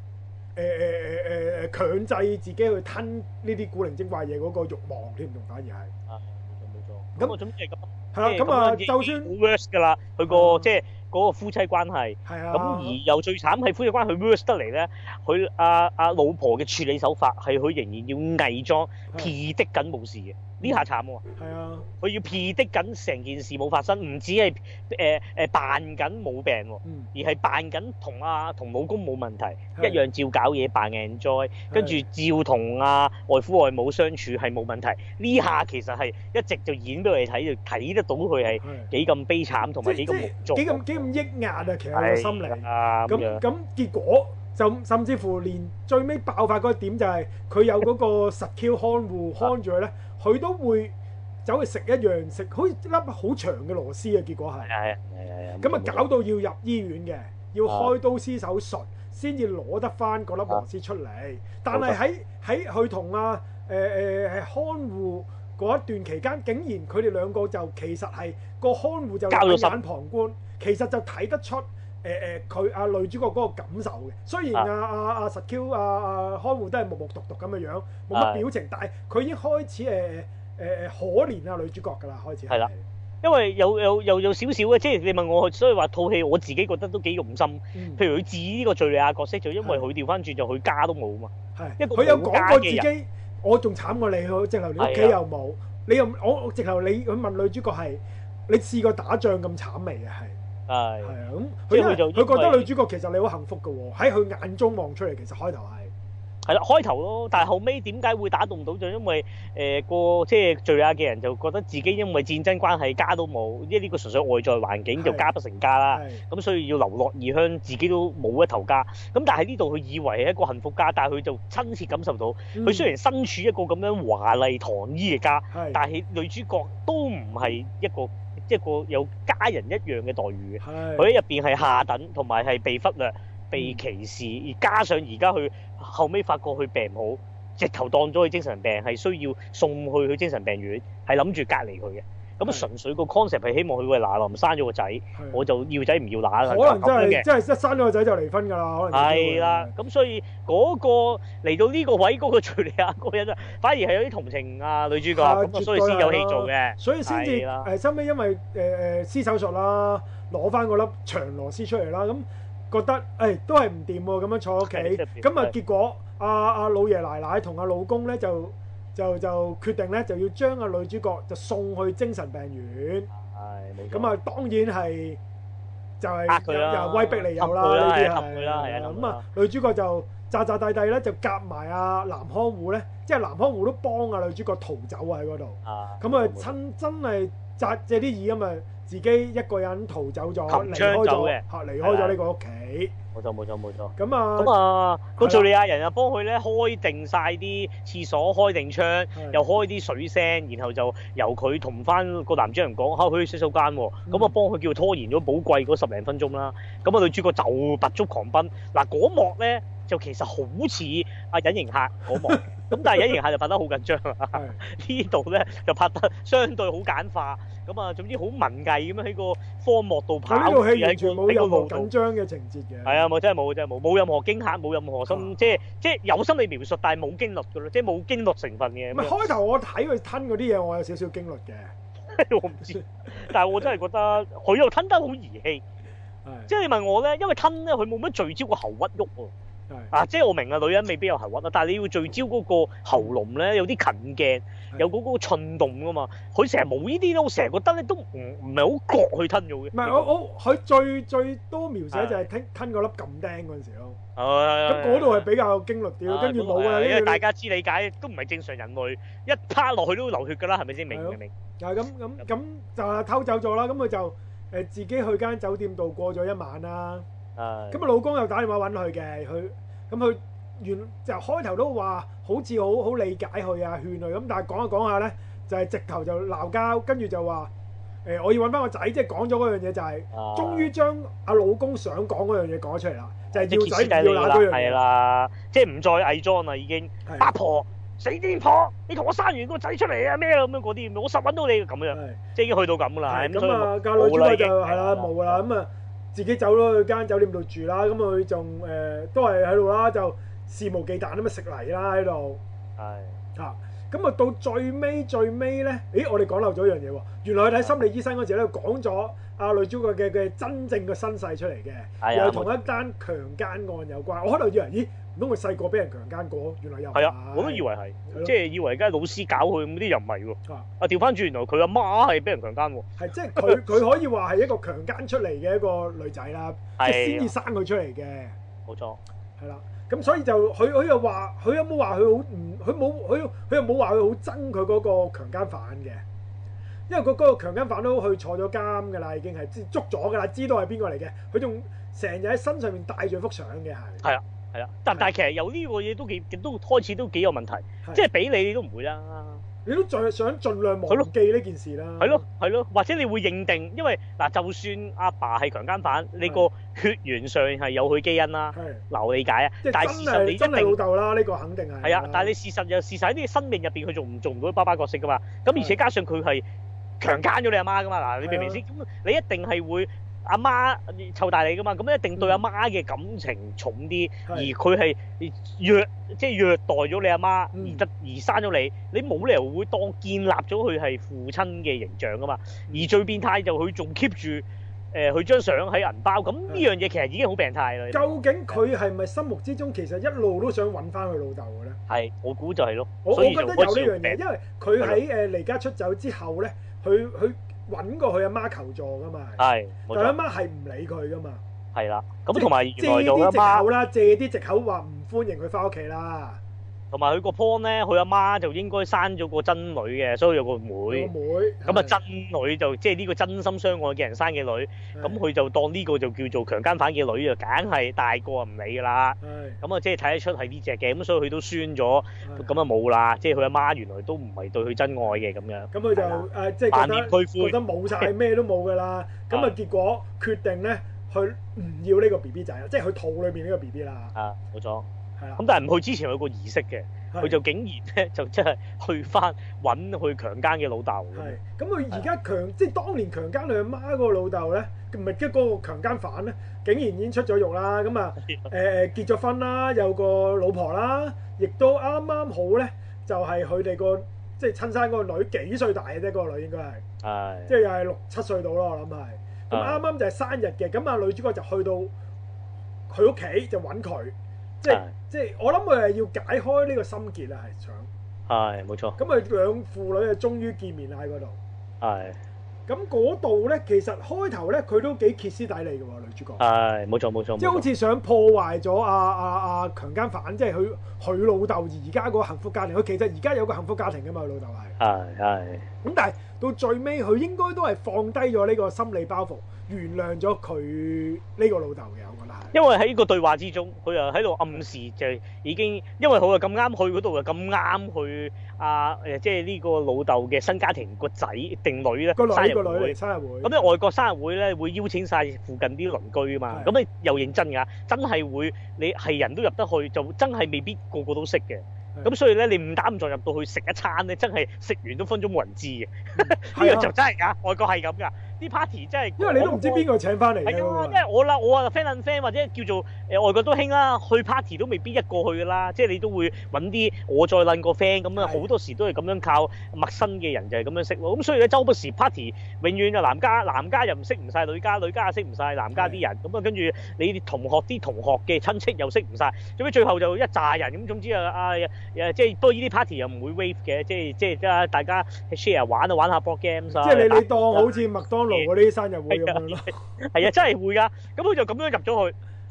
誒誒強制自己去吞呢啲古靈精怪嘢嗰個慾望添，仲反而係。 啊，冇錯冇錯。咁我總之係咁。 係啦，咁啊，就算好 worse 㗎啦，佢個即係嗰個夫妻關係。 係啊。 咁而又最慘係夫妻關係 worse 得嚟咧，佢阿阿老婆嘅處理手法係佢仍然要偽裝 P 的緊冇事嘅，呢下慘喎。 係啊。佢要 P 的緊成件事冇發生，唔止係誒誒扮緊冇病喎， 嗯、 而係扮緊同阿同老公冇問題，一樣照搞嘢扮 enjoy，跟住照同阿外父外母相處係冇問題。呢下其實係一直就演俾我哋睇，就睇得到佢係幾咁悲慘同埋幾咁無助， 幾咁幾咁抑壓啊！其實個心靈咁咁結果就甚至乎連最尾爆發嗰個點就係佢有嗰個實 Q 看護看住佢咧，佢都會走去食一樣食好似粒好長嘅螺絲啊！結果係係係咁啊，搞到要入醫院嘅，要開刀施手術先至攞得翻嗰粒螺絲出嚟。但係喺喺佢同啊誒誒係看護嗰一段期間，竟然佢哋兩個就其實係個看護就冷眼旁觀，其實就睇得出誒誒佢阿女主角嗰個感受嘅。雖然阿阿阿實 Q 阿阿看護都係木木獨獨咁嘅樣，冇乜表情，但係佢已經開始誒誒誒可憐阿女主角㗎啦，開始係啦。 因為有有有有少少嘅，即係你問我，所以話套戲我自己覺得都幾用心。嗯、譬如佢治呢個敍利亞角色，就因為佢調翻轉就佢家都冇嘛。係，佢有講過自己，我仲慘過你，直頭你屋企又冇，你又我直頭你佢問女主角係你試過打仗咁慘未啊？係係係啊，咁佢就佢覺得女主角其實你好幸福㗎喎，喺佢眼中望出嚟，其實開頭係。 係啦，開頭咯，但係後尾點解會打動到？就因為誒、呃、個即係敍利亞嘅人就覺得自己因為戰爭關係家都冇，因為呢個純粹外在環境就家不成家啦。咁所以要流落異鄉，自己都冇一頭家。咁但係呢度佢以為係一個幸福家，但係佢就親切感受到，佢、嗯、雖然身處一個咁樣華麗唐衣嘅家，但係女主角都唔係一個一個有家人一樣嘅待遇嘅。佢喺入邊係下等，同埋係被忽略、被歧視，而加上而家佢後尾發覺佢病唔好，直頭當咗佢精神病，係需要送去去精神病院，係諗住隔離佢嘅。咁啊，純粹個 concept 係希望佢喂嗱臨生咗個仔，我就要仔唔要乸啦。 可能真係真係一生咗個仔就離婚㗎啦。可能係啦，咁所以嗰個嚟到呢個位，嗰個敍利亞嗰個人啊，反而係有啲同情啊女主角，咁啊所以先有戲做嘅。 所以先至誒，收尾因為誒誒施手術啦，攞翻嗰粒長螺絲出嚟啦，咁。覺得誒、哎、都係唔掂喎，咁樣坐屋企，咁啊結果阿阿、啊、老爺奶奶同阿老公咧就就就決定咧就要將阿女主角就送去精神病院。係，咁啊當然係就係又威逼利誘啦，呢啲係。咁啊女主角就詐詐諦諦咧就夾埋阿男看護咧，即係男看護都幫阿女主角逃走啊喺嗰度。咁啊親真係詐借啲意咁啊！自己一個人逃走咗，離開咗嚇，離開咗呢個屋企。冇錯冇錯冇錯。咁啊，咁啊，個敍利亞人又幫佢咧開定晒啲廁所，開定窗，又開啲水聲，然後就由佢同翻個男主人講，嚇去洗手間喎。咁啊幫佢叫拖延咗寶貴嗰十零分鐘啦。咁啊女主角就拔足狂奔。嗱嗰幕咧就其實好似阿隱形客嗰幕，咁但係隱形客就拍得好緊張啊。呢度咧就拍得相對好簡化。咁啊，總之好文藝咁樣喺個荒漠度跑， 呢套戲完全冇任何緊張嘅情節嘅。 係啊，冇真係冇真係冇，冇任何驚嚇，冇任何心，啊、即係即係有心理描述，但係冇經歷㗎咯，即係冇經歷成分嘅。唔係開頭我睇佢吞嗰啲嘢，我有少少經歷嘅。 我唔知，但係我真係覺得佢又吞得好兒戲。即係你問我咧，因為吞咧佢冇乜聚焦個喉屈喐喎。啊，即係我明啊，女人未必有喉屈啊，但係你要聚焦嗰個喉嚨咧，有啲近鏡，有嗰個寸動噶嘛。佢成日冇呢啲咯，我成日覺得咧都唔唔係好覺去吞咗嘅。 唔係我我佢最最多描寫就係吞吞嗰粒撳釘嗰陣時咯。 咁嗰度係比較驚慄啲，跟住冇啦， 因為大家知理解都唔係正常人類，一趴落去都流血㗎啦，係咪先？明唔明？ 係咁咁咁就係偷走咗啦，咁佢就誒自己去間酒店度過咗一晚啦。咁啊，老公又打電話揾佢嘅，佢咁佢原就開頭都話好似好好理解佢啊，勸佢咁，但係講下講下咧，就係直頭就鬧交，跟住就話誒我要揾翻個仔，即係講咗嗰樣嘢就係，終於將阿老公想講嗰樣嘢講出嚟啦，就係要仔唔要乸嗰樣嘢。係啦， 即係唔再偽裝啦，已經八婆。死癲婆！你同我生完個仔出嚟啊咩咁樣嗰啲，我實揾到你咁樣，即係已經去到咁啦。 咁啊，個女主角就係啦，冇啦，咁啊自己走咗去間酒店度住啦。咁佢仲誒都係喺度啦，就肆無忌憚咁啊食泥啦喺度。係啊，咁啊到最尾最尾咧，咦我哋講漏咗一樣嘢喎。原來佢睇心理醫生嗰時咧講咗阿女主角嘅嘅真正嘅身世出嚟嘅，又同一單強姦案有關。我開頭以為咦？唔通佢細個俾人強姦過？原來又係啊！我都以為係，即係以為而家老師搞佢咁啲又唔係喎。啊調翻轉，原來佢阿媽係俾人強姦喎。 係即係佢佢可以話係一個強姦出嚟嘅一個女仔啦，即係先至生佢出嚟嘅。 冇錯。係啦， 咁所以就佢佢又話，佢有冇話佢好唔？佢冇佢佢又冇話佢好憎佢嗰個強姦犯嘅，因為佢嗰個強姦犯都去坐咗監㗎啦，已經係捉咗㗎啦，知道係邊個嚟嘅。佢仲成日喺身上面帶住幅相嘅係。係啊。係啦，但但係其實有呢個嘢都幾都開始都幾有問題，即係俾你你都唔會啦，你都再想盡量忘記呢件事啦。係咯係咯，或者你會認定，因為嗱，就算阿爸係強姦犯，你個血緣上係有佢基因啦，嗱我理解啊。但係事實你真係老豆啦，呢個肯定係。係啊，但係你事實又事實喺呢個生命入邊，佢做唔做唔到爸爸角色噶嘛？咁而且加上佢係強姦咗你阿媽噶嘛？嗱，你明唔明先？咁你一定係會。阿媽湊大你噶嘛，咁一定對阿媽嘅感情重啲，而佢係虐即係虐待咗你阿媽，而得而生咗你，你冇理由會當建立咗佢係父親嘅形象噶嘛。而最變態就佢仲 keep 住誒佢張相喺銀包，咁呢樣嘢其實已經好病態啦。究竟佢係咪心目之中其實一路都想揾翻佢老豆嘅咧？係，我估就係咯。我我覺得有呢樣嘢，因為佢喺誒離家出走之後咧，佢佢。揾過佢阿媽求助噶嘛，係，但係阿媽係唔理佢噶嘛，係啦。咁同埋借啲藉口啦，借啲藉口話唔歡迎佢翻屋企啦。同埋佢個 point 咧，佢阿媽就應該生咗個真女嘅，所以有個妹。個妹。咁啊，真女就即係呢個真心相愛嘅人生嘅女，咁佢就當呢個就叫做強姦犯嘅女啊，梗係大個唔理㗎啦。咁啊，即係睇得出係呢隻嘅，咁所以佢都酸咗，咁啊冇啦。即係佢阿媽原來都唔係對佢真愛嘅咁樣。咁佢就誒即係覺得覺得冇曬咩都冇㗎啦。咁啊結果決定咧，佢唔要呢個 B B 仔啦，即係佢肚裏邊呢個 B B 啦。啊，冇錯。咁但係唔去之前有個儀式嘅，佢就竟然咧就即係去翻揾去強姦嘅老豆。係，咁佢而家強即係當年強姦佢阿媽嗰個老豆咧，唔係即係嗰個強姦犯咧，竟然已經出咗獄啦。咁啊誒誒結咗婚啦，有個老婆啦，亦都啱啱好咧，就係佢哋個即係親生嗰個女幾歲大嘅啫，嗰個女應該係，係即係又係六七歲到咯，我諗係。咁啱啱就係生日嘅，咁啊女主角就去到佢屋企就揾佢。即係即係，我諗佢係要解開呢個心結啊，係想係冇錯。咁佢兩父女啊，終於見面啦喺嗰度。係。咁嗰度咧，其實開頭咧，佢都幾歇斯底里嘅喎，女主角。係冇錯冇錯。即係好似想破壞咗阿阿阿強姦犯，即係佢佢老豆而家嗰個幸福家庭。佢其實而家有個幸福家庭嘅嘛，佢老豆係。係係。咁但係到最尾，佢應該都係放低咗呢個心理包袱，原諒咗佢呢個老豆嘅，我覺得係。因為喺呢個對話之中，佢又喺度暗示就係已經，因為佢又咁啱去嗰度，又咁啱去啊誒，即係呢個老豆嘅新家庭個仔定女咧，生日會。生日會。咁咧外國生日會咧會邀請晒附近啲鄰居啊嘛，咁你又認真㗎，真係會你係人都入得去，就真係未必個個都識嘅。咁所以咧，你誤打誤撞入到去食一餐咧，真係食完都分鐘冇人知嘅。呢個就真係㗎，外國係咁㗎。啲 party 真係，因為你都唔知邊個請翻嚟。係啊，因為我啦，我啊 friend and friend 或者叫做誒外國都興啦，去 party 都未必一個去㗎啦。即係你都會揾啲我再撚個 friend 咁啊，好多時都係咁樣靠陌生嘅人就係咁樣識咯。咁所以咧，周不時 party 永遠就男家男家又唔識唔晒女家，女家又識唔晒男家啲人。咁啊，跟住你啲同學啲同學嘅親戚又識唔晒。最尾最後就一紮人咁，總之啊啊誒即係不過呢啲 party 又唔會 wave 嘅，即係即係大家 share 玩啊玩下 board games 啊。即係你你當好似麥當勞嗰啲生日會咁樣咯。係啊，真係會㗎。咁佢就咁樣入咗去，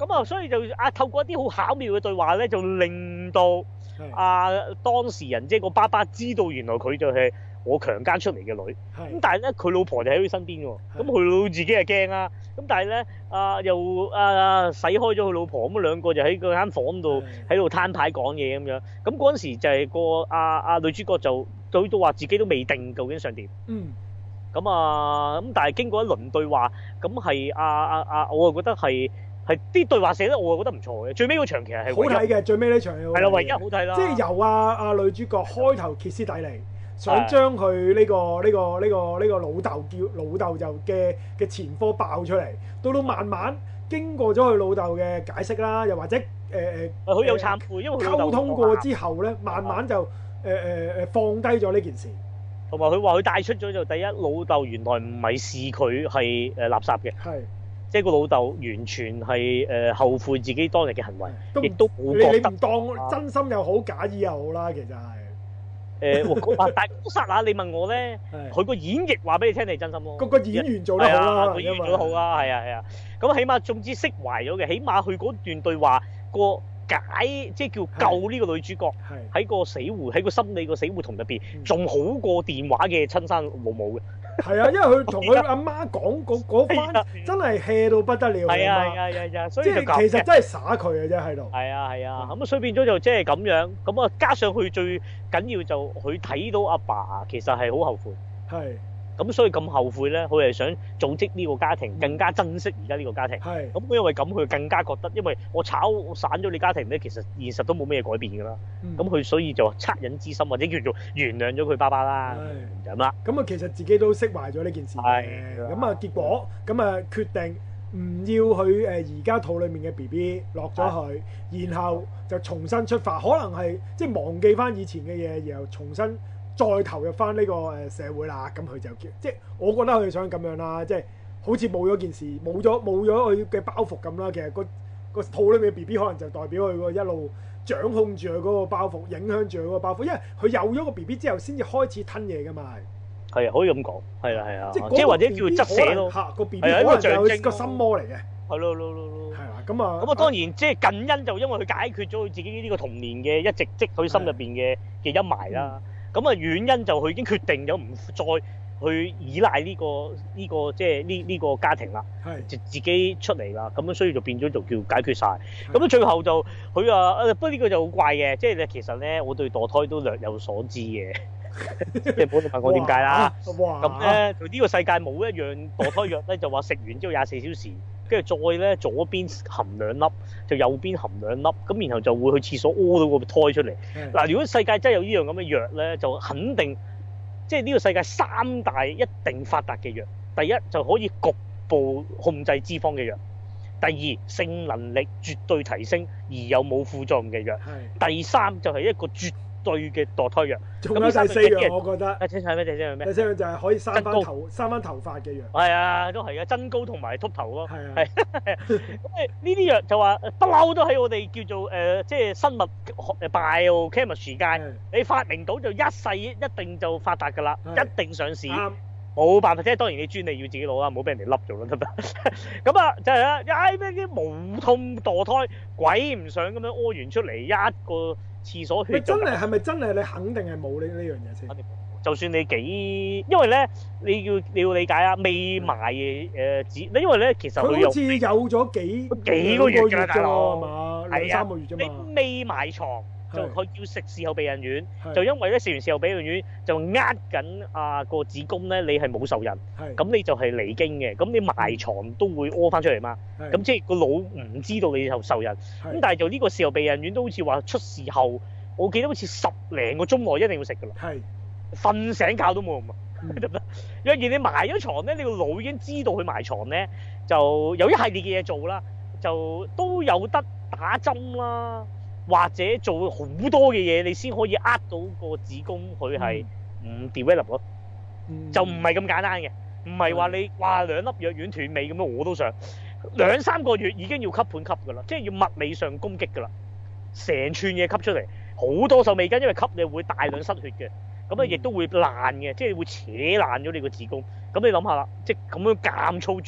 咁啊，所以就啊透過一啲好巧妙嘅對話咧，就令到啊當事人即係個爸爸知道原來佢就係我強姦出嚟嘅女。咁但係咧佢老婆就喺佢身邊喎，咁佢老自己係驚啦。咁但係咧啊又啊使開咗佢老婆，咁兩個就喺嗰間房度喺度攤牌講嘢咁樣。咁嗰陣時就係個啊啊女主角就佢都話自己都未定究竟想點。 嗯。 咁啊咁，但係經過一輪對話，咁係啊啊啊，我啊覺得係。係啲對話寫得我覺得唔錯嘅，最尾嗰場其實係好睇嘅，最尾呢場係啦，唯一好睇啦。 即係由啊啊女主角開頭歇斯底里，想將佢呢個呢個呢個呢個老豆叫老豆就嘅嘅前科爆出嚟，到到慢慢經過咗佢老豆嘅解釋啦，又或者誒誒， 佢有懺悔，因為佢溝通過之後咧，慢慢就誒誒誒放低咗呢件事。同埋佢話佢帶出咗就第一，老豆原來唔係視佢係誒垃圾嘅。 係。 即係個老豆完全係誒、呃、後悔自己當日嘅行為，亦都冇覺得你唔當真心又好，假意又好啦，其實係誒。呃、但係嗰剎那你問我咧，佢個演繹話俾你聽你真心咯。 個個演員做得好啦， 個演員做得好啦，係啊係啊。咁起碼總之釋懷咗嘅，起碼佢嗰段對話個解，即係叫救呢個女主角喺個死胡喺個心理個死胡同入邊，仲好過電話嘅親生母母嘅。 係啊，因為佢同佢阿媽講嗰嗰番真係 hea 到不得了。 係啊係啊係啊，所以即係其實真係耍佢嘅啫喺度。 係啊係啊，咁啊所以變咗就即係咁樣，咁啊加上佢最緊要就佢睇到阿爸其實係好後悔。 係。 咁所以咁後悔咧，佢係想組織呢個家庭，更加珍惜而家呢個家庭。 係。 咁因為咁，佢更加覺得，因為我炒散咗你家庭咧，其實現實都冇咩改變㗎啦。咁佢、嗯、所以就惻隱之心，或者叫做原諒咗佢爸爸啦。係。咁啦。咁啊，其實自己都釋懷咗呢件事嘅。係。咁啊，結果咁啊，決定唔要佢誒而家肚裡面嘅 B B 落咗去，然後就重新出發，可能係即係忘記翻以前嘅嘢，然後重新。再投入翻呢個誒社會啦，咁佢就叫即係我覺得佢想咁樣啦，即係好似冇咗件事，冇咗冇咗佢嘅包袱咁啦。其實個個肚裏面嘅 B B 可能就代表佢個一路掌控住佢嗰個包袱，影響住佢嗰個包袱，因為佢有咗個 B B 之後，先至開始吞嘢噶嘛。係啊， 可以咁講，係啊係啊， 即係或者叫側寫咯。 嚇個 B B 可能就係個心魔嚟嘅。係咯咯咯咯。 係啊，咁啊。 咁啊，當然即係近因就因為佢解決咗佢自己呢個童年嘅一直積佢心入邊嘅嘅陰霾啦。咁啊，遠因就佢已經決定咗唔再去依賴呢、這個呢、這個即係呢呢個家庭啦，就自己出嚟啦。咁樣所以就變咗就叫解決晒。咁樣最後就佢話不過呢個就好怪嘅，即係咧其實咧我對墮胎都略有所知嘅，即係唔好問我點解啦。咁咧佢呢個世界冇一樣墮胎藥咧，就話食完之後廿四小時。跟住再咧，左邊含兩粒，就右邊含兩粒，咁然後就會去廁所屙到個胎出嚟。嗱，如果世界真係有呢樣咁嘅藥咧，就肯定即係呢個世界三大一定發達嘅藥。第一就可以局部控制脂肪嘅藥，第二性能力絕對提升而又冇副作用嘅藥，第三就係一個絕對嘅墮胎藥。 仲有第四樣，我覺得。 第四樣咩？第四樣咩？ 第四樣就係可以生翻頭、生翻頭髮嘅藥。 係啊，都係啊，增高同埋禿頭咯。 係啊。 係。咁誒呢啲藥就話不嬲都喺我哋叫做誒、呃，即係生物學 biochemistry 界，你發明到就一世一定就發達㗎啦，一定上市。冇辦法，即係當然你專利要自己攞啦，唔好俾人哋笠咗啦，得唔得？咁啊，就係啦，唉咩啲無痛墮胎，鬼唔想咁樣屙完出嚟一個廁所血。 真係係咪真係你肯定係冇呢呢樣嘢先？ 就算你幾，因為咧你要你要理解啊，未埋誒紙，因為咧其實佢好似有咗幾幾個月㗎，大佬係嘛？兩三個月啫嘛。 你未埋床。就佢要食事後避孕丸，就因為咧食完事後避孕丸就呃緊啊個子宮咧，你係冇受孕，咁你就係離經嘅，咁你埋床都會屙翻出嚟嘛，咁即係個腦唔知道你有受孕，咁但係就呢個事後避孕丸都好似話出事後，我記得好似十零個鐘內一定要食㗎啦，瞓醒覺都冇用啊，得唔得？若然你埋咗床咧，你個腦已經知道佢埋床咧，就有一系列嘅嘢做啦，就都有得打針啦。或者做好多嘅嘢，你先可以呃到個子宮佢係唔 develop 咯，就唔係咁簡單嘅，唔係話你哇兩粒藥丸斷尾咁樣，我都想兩三個月已經要吸盤吸㗎啦，即係要物理上攻擊㗎啦，成串嘢吸出嚟，好多受未根，因為吸你會大量失血嘅，咁啊亦都會爛嘅，即係會扯爛咗你個子宮。咁你諗下啦，即係咁樣咁粗絕，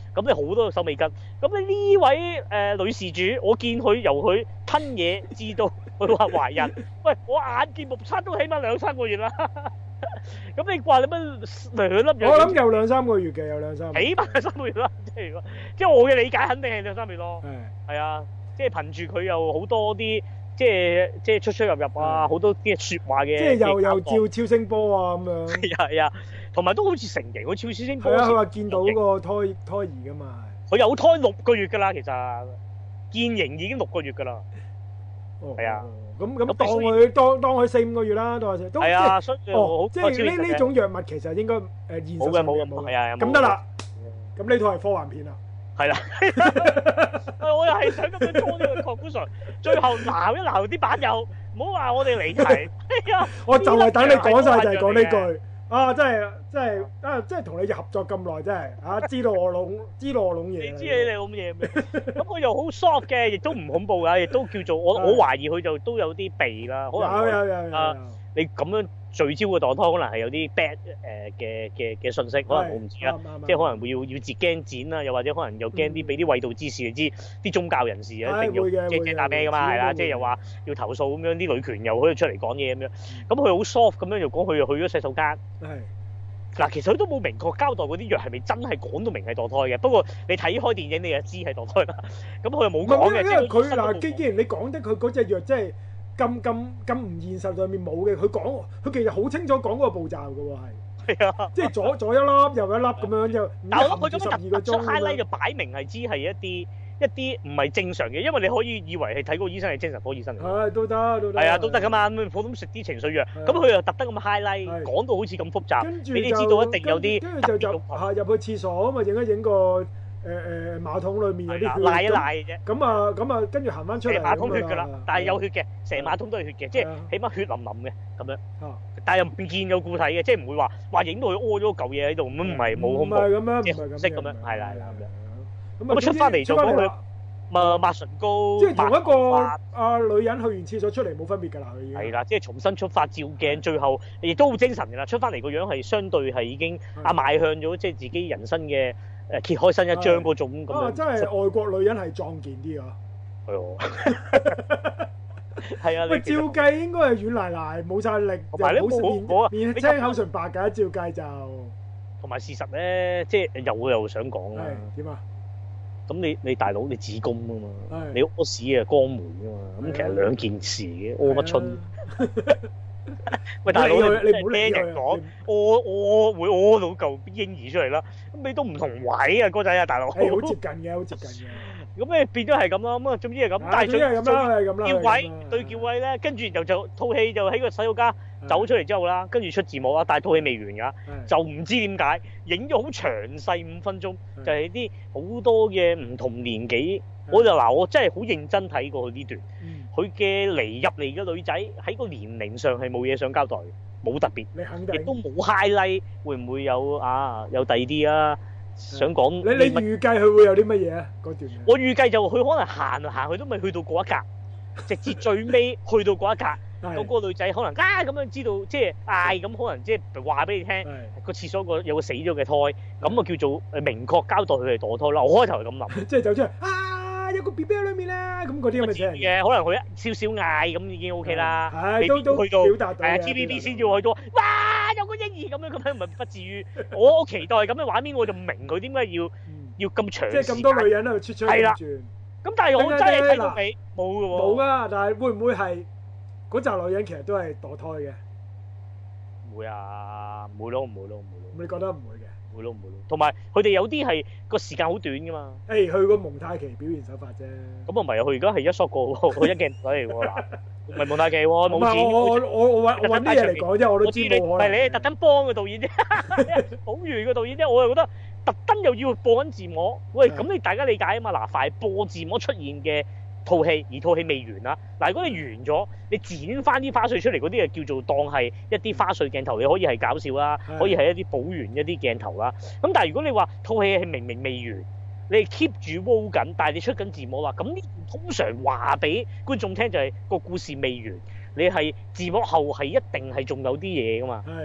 咁你好多手尾跟。咁你呢位誒、呃、女事主，我見佢由佢吞嘢至到佢話懷孕，喂，我眼見目測都起碼兩三個月啦。咁你話你乜兩粒藥？ 我諗有兩三個月嘅，有兩三個月。 起碼兩三個月啦，即係即係我嘅理解，肯定係兩三個月咯。 係係啊，即係憑住佢有好多啲。即係即係出出入入啊，好多啲説話嘅， 即係又又照超聲波啊咁樣。 係啊係啊，同埋都好似成型喎，超超聲波。 係啊，佢話見到個胎胎兒㗎嘛。 佢有胎六個月㗎啦，其實見形已經六個月㗎啦。 哦， 係啊。 咁咁當佢當當佢四五個月啦，當佢四。 係啊，所以哦，即係呢呢種藥物其實應該誒現實冇嘅冇嘅冇。係啊， 咁得啦。咁呢套係科幻片啊。 係啦，我又係想咁樣拖呢個 conclusion，最後鬧一鬧啲版友，唔好話我哋離題。 我就係等你講晒就係講呢句啊！真係真係啊！真係同你合作咁耐，真係啊！知道我弄知道我弄嘢。 你知你你弄嘢咩？咁佢又好 soft 嘅，亦都唔恐怖㗎，亦都叫做我我懷疑佢就都有啲避啦。可能有有有有。 啊，你咁樣聚焦嘅墮胎，可能係有啲 bad 誒嘅嘅嘅信息，可能我唔知啦。即係可能會要要截驚剪啦，又或者可能又驚啲俾啲衛道之士，你知啲宗教人士一定要即係驚打咩㗎嘛，係啦，即係又話要投訴咁樣，啲女權又可以出嚟講嘢咁樣。咁佢好 soft 咁樣又講佢又去咗洗手間。 係。 嗱，其實佢都冇明確交代嗰啲藥係咪真係講到明係墮胎嘅。不過你睇開電影你就知係墮胎啦。咁佢又冇講嘅。 因為佢嗱，既既然你講得佢嗰隻藥即係。咁咁咁唔現實上面冇嘅，佢講佢其實好清楚講嗰個步驟嘅喎，係。係啊，即係左左一粒右一粒咁樣就。但係我覺得十二個鐘 highlight 就擺明係知係一啲一啲唔係正常嘅，因為你可以以為係睇嗰個醫生係精神科醫生嚟。 係都得都得。 係啊，都得噶嘛，咁普通食啲情緒藥，咁佢又特登咁 highlight 講到好似咁複雜，俾你知道一定有啲。 跟住就就嚇入去廁所啊嘛，影一影個。誒誒馬桶裏面有啲血， 瀨一瀨啫。 咁啊咁啊，跟住行翻出嚟。 成馬桶血㗎啦，但係有血嘅，成馬桶都係血嘅，即係起碼血淋淋嘅咁樣。但係又唔見有固體嘅，即係唔會話話影到佢屙咗嚿嘢喺度，咁唔係冇恐怖。唔係咁樣， 即係色咁樣，係啦係啦咁樣。 咁啊出翻嚟就講佢抹抹唇膏。 即係同一個啊女人去完廁所出嚟冇分別㗎啦，佢已經。 係啦，即係重新出發照鏡，最後亦都好精神㗎啦。出翻嚟個樣係相對係已經啊邁向咗即係自己人生嘅。誒揭開新一章嗰種咁樣， 啊！真係外國女人係壯健啲啊！ 係喎，係啊！ 喂，照計應該係軟賴賴，冇晒力， 同埋咧冇面青口唇白㗎，照計就。 同埋事實咧，即係又又想講啦。 點啊？ 咁你你大佬你子宮啊嘛，你屙屎啊肛門啊嘛，咁其實兩件事嘅，屙乜春？喂，大佬，你唔好聽人講，屙屙會屙到嚿嬰兒出嚟啦，咁你都唔同位啊，哥仔啊，大佬。係好接近嘅，好接近嘅。 咁你變咗係咁啦，咁啊，總之係咁。 但係最係咁啦，係咁啦。 叫位對叫位咧，跟住就就套戲就喺個洗手間走出嚟之後啦，跟住出字幕啦，但係套戲未完㗎，就唔知點解影咗好詳細五分鐘，就係啲好多嘅唔同年紀。我就嗱，我真係好認真睇過佢呢段。佢嘅嚟入嚟嘅女仔喺個年齡上係冇嘢想交代，冇特別，亦都冇 highlight，會唔會有啊？有第二啲啊？想講你你預計佢會有啲乜嘢啊？嗰段我預計就佢可能行行去都未去到嗰一格，直至最尾去到嗰一格，嗰個女仔可能啊咁樣知道，即係嗌咁，可能即係話俾你聽個廁所個有個死咗嘅胎，咁啊叫做誒明確交代佢係墮胎啦。我開頭係咁諗， 即係走出嚟啊！有個 B B 喺裏面啦，咁嗰啲咁嘅嘢嘅，可能佢少少嗌咁已經 O K 啦， 係都都去到表達到係啊 T V B 先至去到，哇有個嬰兒咁樣咁樣，唔係不至於。我期待咁嘅畫面，我就唔明佢點解要要咁長。 即係咁多女人喺度出出轉轉。 咁但係我真係睇到尾冇嘅喎。 冇啊！但係會唔會係嗰紮女人其實都係墮胎嘅？ 唔會啊，唔會咯，唔會咯，唔會咯。 你覺得唔會嘅？ 唔會咯，唔會咯。同埋佢哋有啲係個時間好短㗎嘛。 誒，佢個蒙太奇表現手法啫。咁啊唔係啊，佢而家係一 shot 過喎，佢一鏡頭嚟喎嗱，唔係蒙太奇喎，冇錢。 我我我我揾揾啲嘢嚟講啫，我都知冇可能。 唔係你係特登幫個導演啫，好完個導演啫，我又覺得特登又要播緊字幕。喂，咁你大家理解啊嘛？嗱，快播字幕出現嘅套戲，而套戲未完啦。嗱，如果你完咗，你剪翻啲花絮出嚟嗰啲，就叫做當係一啲花絮鏡頭，你可以係搞笑啦，可以係一啲補完一啲鏡頭啦。咁但係如果你話套戲係明明未完，你 keep 住 roll 緊，但係你出緊字幕啦，咁呢通常話俾觀眾聽就係個故事未完，你係字幕後係一定係仲有啲嘢噶嘛。係。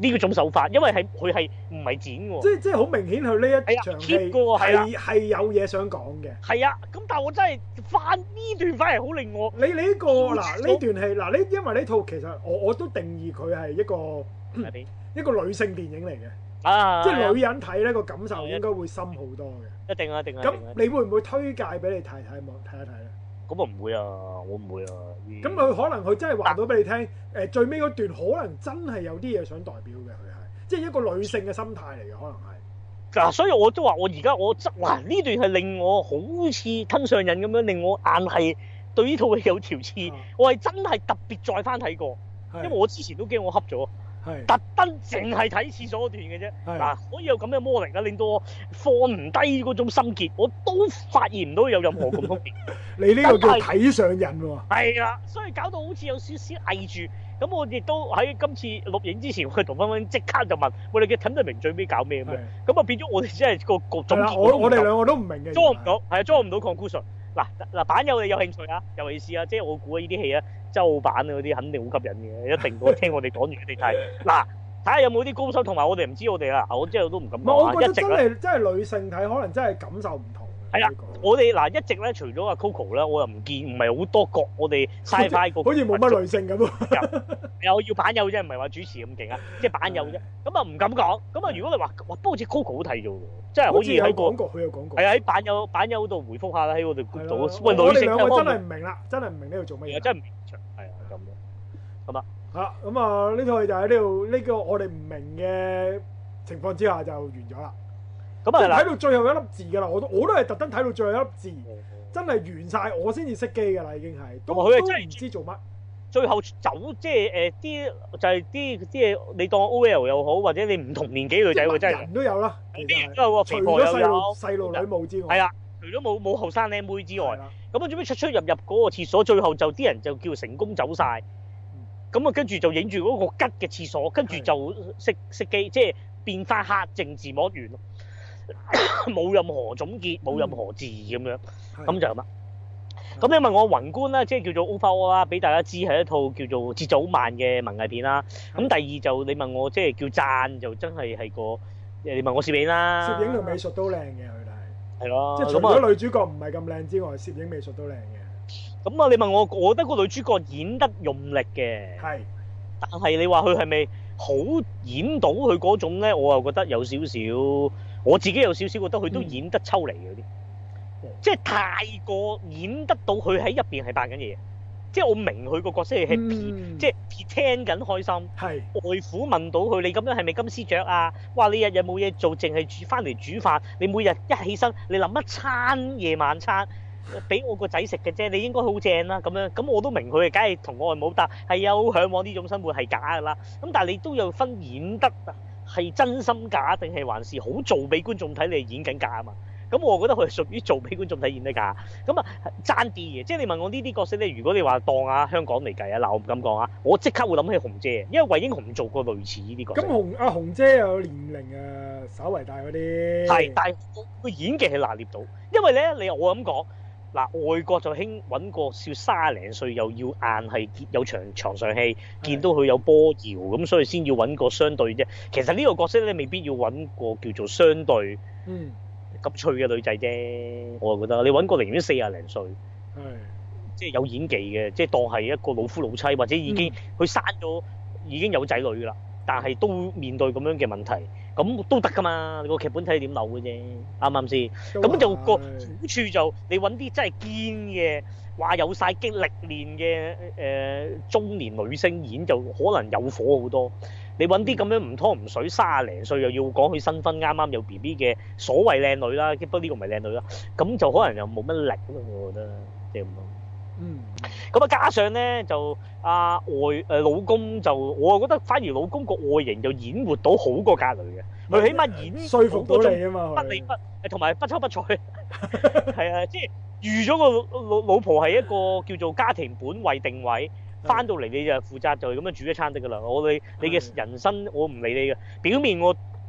呢個種手法，因為係佢係唔係剪喎？ 即即係好明顯，佢呢一場戲係係有嘢想講嘅。 係啊，咁但係我真係翻呢段反而好令我你你呢個嗱呢段戲嗱呢，因為呢套其實我我都定義佢係一個一個女性電影嚟嘅。啊！即係女人睇咧個感受應該會深好多嘅。一定啊，一定啊！咁你會唔會推介俾你太太望睇一睇咧？ 咁啊唔會啊，我唔會啊。 咁佢可能佢真係話到俾你聽，誒最尾嗰段可能真係有啲嘢想代表嘅，佢係即係一個女性嘅心態嚟嘅，可能係。 嗱，所以我都話我而家我執哇呢段係令我好似吞上癮咁樣，令我硬係對呢套戲有條刺。啊、我係真係特別再翻睇過，因為我之前都驚我恰咗。特登淨係睇廁所嗰段嘅啫，嗱可以有咁嘅魔力啊，令到我放唔低嗰種心結，我都發現唔到有任何共通點。 你呢個叫睇上癮喎。係啦，所以搞到好似有少少翳住。咁我亦都喺今次錄影之前，我同芬芬即刻就問我哋嘅睇得明最尾搞咩咁樣，咁啊變咗我哋真係個個總結我我哋兩個都唔明嘅， 裝唔到，係啊，裝唔到 conclusion。嗱嗱，版友你有興趣啊？尤其是啊，即係我估呢啲戲啊，周版嗰啲肯定好吸引嘅，一定我聽我哋講完你睇。嗱，睇下有冇啲高手，同埋我哋唔知我哋啦，我之後都唔敢講啊。 我覺得真係真係女性睇，可能真係感受唔同。 係啦，我哋嗱一直咧，除咗阿 Coco 咧，我又唔見唔係好多角，我哋 Sci-Fi 個好似冇乜女性咁啊！ 有要版友啫，唔係話主持咁勁啊，即係版友啫。咁啊唔敢講。咁啊如果你話哇，不過好似 Coco 好睇咗喎，真係可以喺個廣告佢有廣告。 係啊，喺版友版友度回覆下啦，喺我哋 group 度。 喂，女性我哋兩個真係唔明啦，真係唔明呢度做乜嘢。 真係唔明場，係啊咁樣。咁啊嚇咁啊呢套戲就喺呢度呢個我哋唔明嘅情況之下就完咗啦。咁啊睇到最後一粒字㗎啦，我都我都係特登睇到最後一粒字，真係完晒我先至熄機㗎啦，已經係都都唔知做乜。 最後走即係誒啲就係啲啲嘢，你當 O L 又好，或者你唔同年紀女仔喎，真係人都有啦， 啲人都有喎，肥婆又有， 細路女冇之外， 係啊，除咗冇冇後生靚妹之外，咁啊做咩出出入入嗰個廁所，最後就啲人就叫成功走晒，咁啊跟住就影住嗰個吉嘅廁所，跟住就熄熄機，即係變翻黑靜字幕完咯。冇任何總結，冇任何字咁樣，咁就咁啦。咁你問我宏觀啦，即係叫做 overall 啦，俾大家知係一套叫做節奏好慢嘅文藝片啦。咁第二就你問我即係叫讚，就真係係個你問我攝影啦， 攝影同美術都靚嘅佢哋係，係咯， 即係除咗女主角唔係咁靚之外，攝影美術都靚嘅。咁啊，你問我，我覺得個女主角演得用力嘅，係，但係你話佢係咪好演到佢嗰種咧？我又覺得有少少。我自己有少少覺得佢都演得抽離嗰啲，嗯、即係太過演得到佢喺入邊係扮緊嘢，即係我明佢個角色係 happy，、嗯、即係聽緊開心。係外父問到佢：你咁樣係咪金絲雀啊？哇！你日日冇嘢做，淨係煮翻嚟煮飯。你每日一起身，你諗一餐夜晚餐俾我個仔食嘅啫，你應該好正啦。咁樣咁我都明佢係梗係同我外母，但係有嚮往呢種生活係假㗎啦。咁但係你都有分演得。係真心假定係還是好做俾觀眾睇？你係演緊假啊嘛？咁我覺得佢係屬於做俾觀眾睇演得假。咁啊爭啲嘅，即係你問我呢啲角色咧，如果你話當啊香港嚟計啊，嗱我唔敢講啊，我即刻會諗起紅姐，因為惠英紅做過類似呢啲角色。咁紅阿紅姐有年齡啊，稍為大嗰啲。係， 但係佢演技係拿捏到，因為咧你我咁講。嗱，外國就興揾個少卅零歲又要硬係有場床上戲，見到佢有波搖咁，所以先要揾個相對啫。其實呢個角色咧，未必要揾個叫做相對咁脆嘅女仔啫。我就覺得你揾個寧願四廿零歲，即係有演技嘅，即係當係一個老夫老妻，或者已經佢生咗已經有仔女啦，但係都面對咁樣嘅問題。咁都得噶嘛？個劇本睇你點扭嘅啫，啱唔啱先？咁就個好處就你揾啲真係堅嘅，話有晒經歷練嘅誒中年女星演就可能有火好多。你揾啲咁樣唔拖唔水，卅零歲又要講佢新婚啱啱有 B B 嘅所謂靚女啦，不過呢個唔係靚女啦，咁就可能又冇乜力咯，我覺得即係咁咯。嗯，咁啊加上咧就阿、啊、外誒、呃、老公就我覺得反而老公個外形就演活到好過格雷嘅，佢起碼演說服到你啊嘛， 不離不誒同埋不瞅不睬，係啊，即係預咗個老老婆係一個叫做家庭本位定位，翻到嚟你就負責就係咁樣煮一餐得噶啦，我你你嘅人生我唔理你嘅，表面我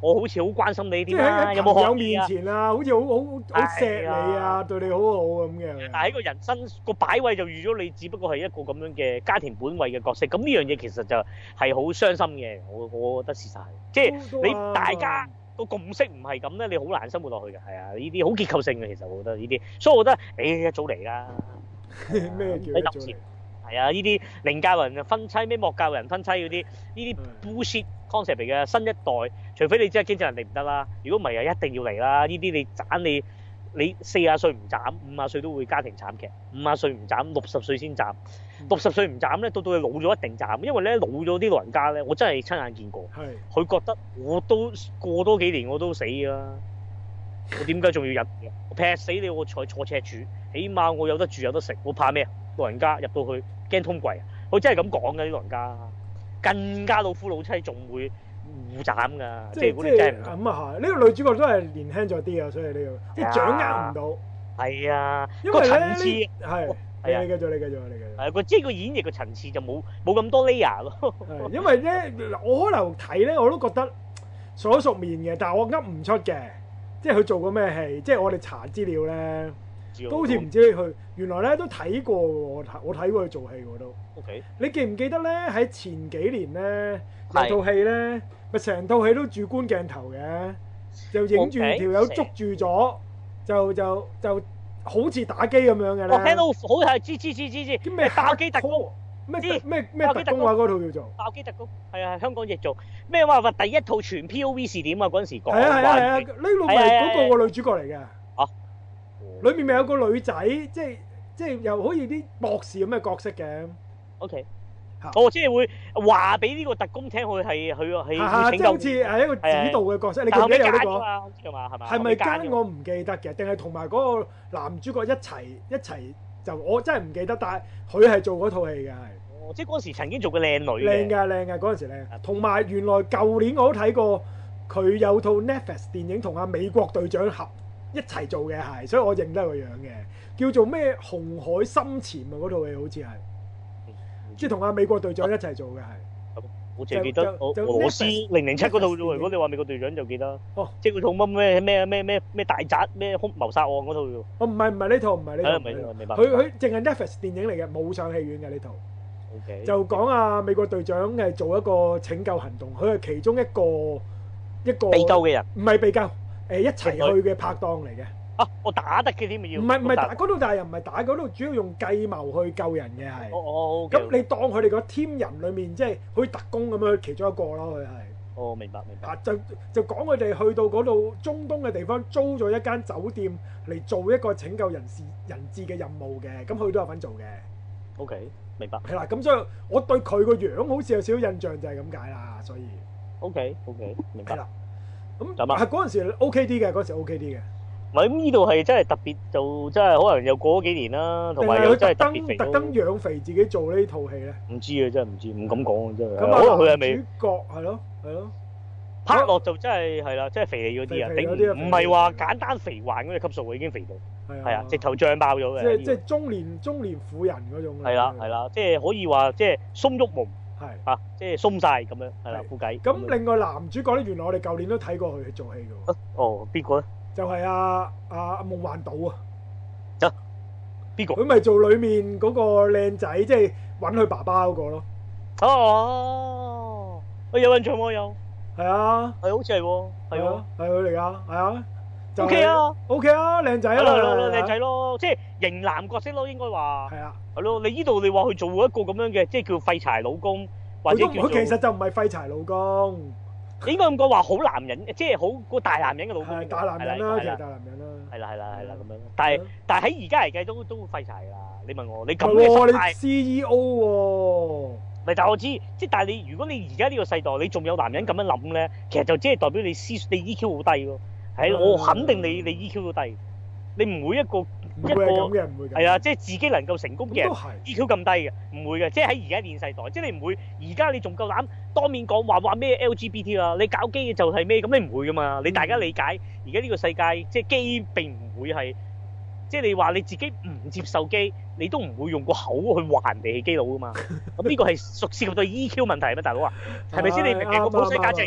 我好似好關心你即點啊， 係有冇學有面前啊，好似好好好錫你啊， 係對你好好咁嘅。 但係喺個人生個擺位就預咗你，只不過係一個咁樣嘅家庭本位嘅角色。咁呢樣嘢其實就係好傷心嘅。我我覺得事實係，即係你大家個共識唔係咁咧，你好難生活落去嘅。係啊，呢啲好結構性嘅，其實我覺得呢啲，所以我覺得誒一早嚟啦。 咩叫一早嚟？ 係啊，呢啲寧教人分妻，咩莫教人分妻嗰啲，呢啲 bullshit concept 嚟嘅。新一代，除非你真係經濟能力唔得啦，如果唔係啊，一定要嚟啦。呢啲你斬你你四十歲唔斬，五十歲都會家庭慘劇。五十歲唔斬，六十歲先斬。六十歲唔斬咧，到到你老咗一定斬，因為咧老咗啲老人家咧，我真係親眼見過。係。佢覺得我都過多幾年我都死啦，我點解仲要入？我劈死你，我坐坐赤柱，起碼我有得住有得食，我怕咩啊？老人家入到去驚通櫃啊！佢真係咁講嘅啲老人家，更加老夫老妻仲會互斬㗎。即係如果你真係唔咁啊係，呢個女主角都係年輕咗啲啊，所以呢個即係掌握唔到。 係啊， 因為個層次係係啊， 你繼續，你繼續，你繼續。 係個即係個演繹嘅層次就冇冇咁多 layer 咯。 係因為咧，我可能睇咧我都覺得熟口熟面嘅，但係我噏唔出嘅，即係佢做過咩戲，即係我哋查資料咧。都好似唔知佢原來咧都睇過喎，我睇我睇過佢做戲我都。 OK。你記唔記得咧？喺前幾年咧有套戲咧，咪成套戲都主觀鏡頭嘅，就影住條友捉住咗，就就就好似打機咁樣嘅咧。 我聽到好係知知知知知。叫咩爆機特工？ 咩咩咩特工話嗰套叫做爆機特工。係啊，香港譯做咩話話第一套全 P O V 視點啊！嗰陣時講。 係啊係啊係啊！呢度咪嗰個個女主角嚟嘅。裏面咪有個女仔，即係即係又好似啲博士咁嘅角色嘅。O K，哦，即係會話俾呢個特工聽，佢係佢係拯救，好似係一個指導嘅角色。你記唔記得有呢個？係嘛係嘛？係咪奸我唔記得嘅，定係同埋嗰個男主角一齊一齊就我真係唔記得，但係佢係做嗰套戲嘅係。哦，即係嗰時曾經做過靚女嘅。靚㗎靚㗎，嗰陣時靚。同埋原來舊年我都睇過佢有套 Netflix 電影同阿美國隊長合。一齊做嘅係，所以我認得個樣嘅，叫做咩紅海深潛啊！嗰套戲好似係，即係同阿美國隊長一齊做嘅係。我淨係記得俄羅斯零零七嗰套啫喎。如果你話美國隊長就記得。哦，即係嗰套乜咩咩咩咩咩大宅咩兇謀殺案嗰套喎。哦，唔係唔係呢套，唔係呢套。明白。佢佢淨係 Netflix 電影嚟嘅，冇上戲院嘅呢套。O K。就講阿美國隊長係做一個拯救行動，佢係其中一個一個被救嘅人，唔係被救。誒一齊去嘅拍檔嚟嘅。啊，我打得嘅添咪要？唔係唔係打嗰度，但係又唔係打嗰度，主要用計謀去救人嘅係。哦哦。咁你當佢哋個 team 人裡面，即係好似特工咁樣，其中一個咯，佢係。哦，明白明白。啊，就就講佢哋去到嗰度中東嘅地方，租咗一間酒店嚟做一個拯救人士人質嘅任務嘅，咁佢都有份做嘅。O K，明白。係啦，咁所以我對佢個樣好似有少少印象，就係咁解啦，所以。O K O K，明白。係啦。咁係嗰陣時 O K 啲嘅，嗰陣時 O K 啲嘅。唔係咁呢度係真係特別，就真係可能又過咗幾年啦，同埋又真係特別肥。特登養肥自己做呢套戲咧？唔知啊，真係唔知，唔敢講啊，真係。可能佢係咪主角係咯？係咯。拍落就真係係啦，真係肥膩嗰啲啊，頂唔係話簡單肥環嗰隻級數，已經肥到係啊，直頭脹爆咗嘅。即係即係中年中年婦人嗰種。係啦係啦，即係可以話即係鬆郁毛。係啊，即係鬆晒咁樣，係啦，副計。咁另外男主角咧，原來我哋舊年都睇過佢做戲嘅喎。哦，邊個咧？就係阿阿夢幻島啊。啊？邊個？佢咪做裡面嗰個靚仔，即係揾佢爸爸嗰個咯。哦，我有印象喎，有。係啊。係好似係喎。係喎。係佢嚟㗎，係啊。O K 啊，O K 啊，靚仔啊，靚仔咯，即係型男角色咯，應該話。係啊。係咯，你呢度你話佢做一個咁樣嘅，即係叫廢柴老公，或者叫做佢其實就唔係廢柴老公，應該咁講話好男人，即係好個大男人嘅老公。係大男人啦，其實大男人啦。係啦係啦係啦咁樣，但係但係喺而家嚟計都都廢柴啦。你問我，你咁嘅心態，你 C E O 喎。咪就我知，即係但係你如果你而家呢個世代，你仲有男人咁樣諗咧，其實就即係代表你思你 E Q 好低咯。係，我肯定你你 E Q 都低，你唔會一個一個係啊，即係自己能夠成功嘅人 E Q 咁低嘅，唔會嘅，即係喺而家現世代，即係你唔會而家你仲夠膽當面講話話咩 L G B T 啦，你搞基就係咩咁，你唔會噶嘛，你大家理解而家呢個世界即係基並唔會係，即係你話你自己唔接受基，你都唔會用個口去話人哋係基佬噶嘛，咁呢個係屬涉及到 E Q 問題咩，大佬啊，係咪先？你明唔明個普世價值？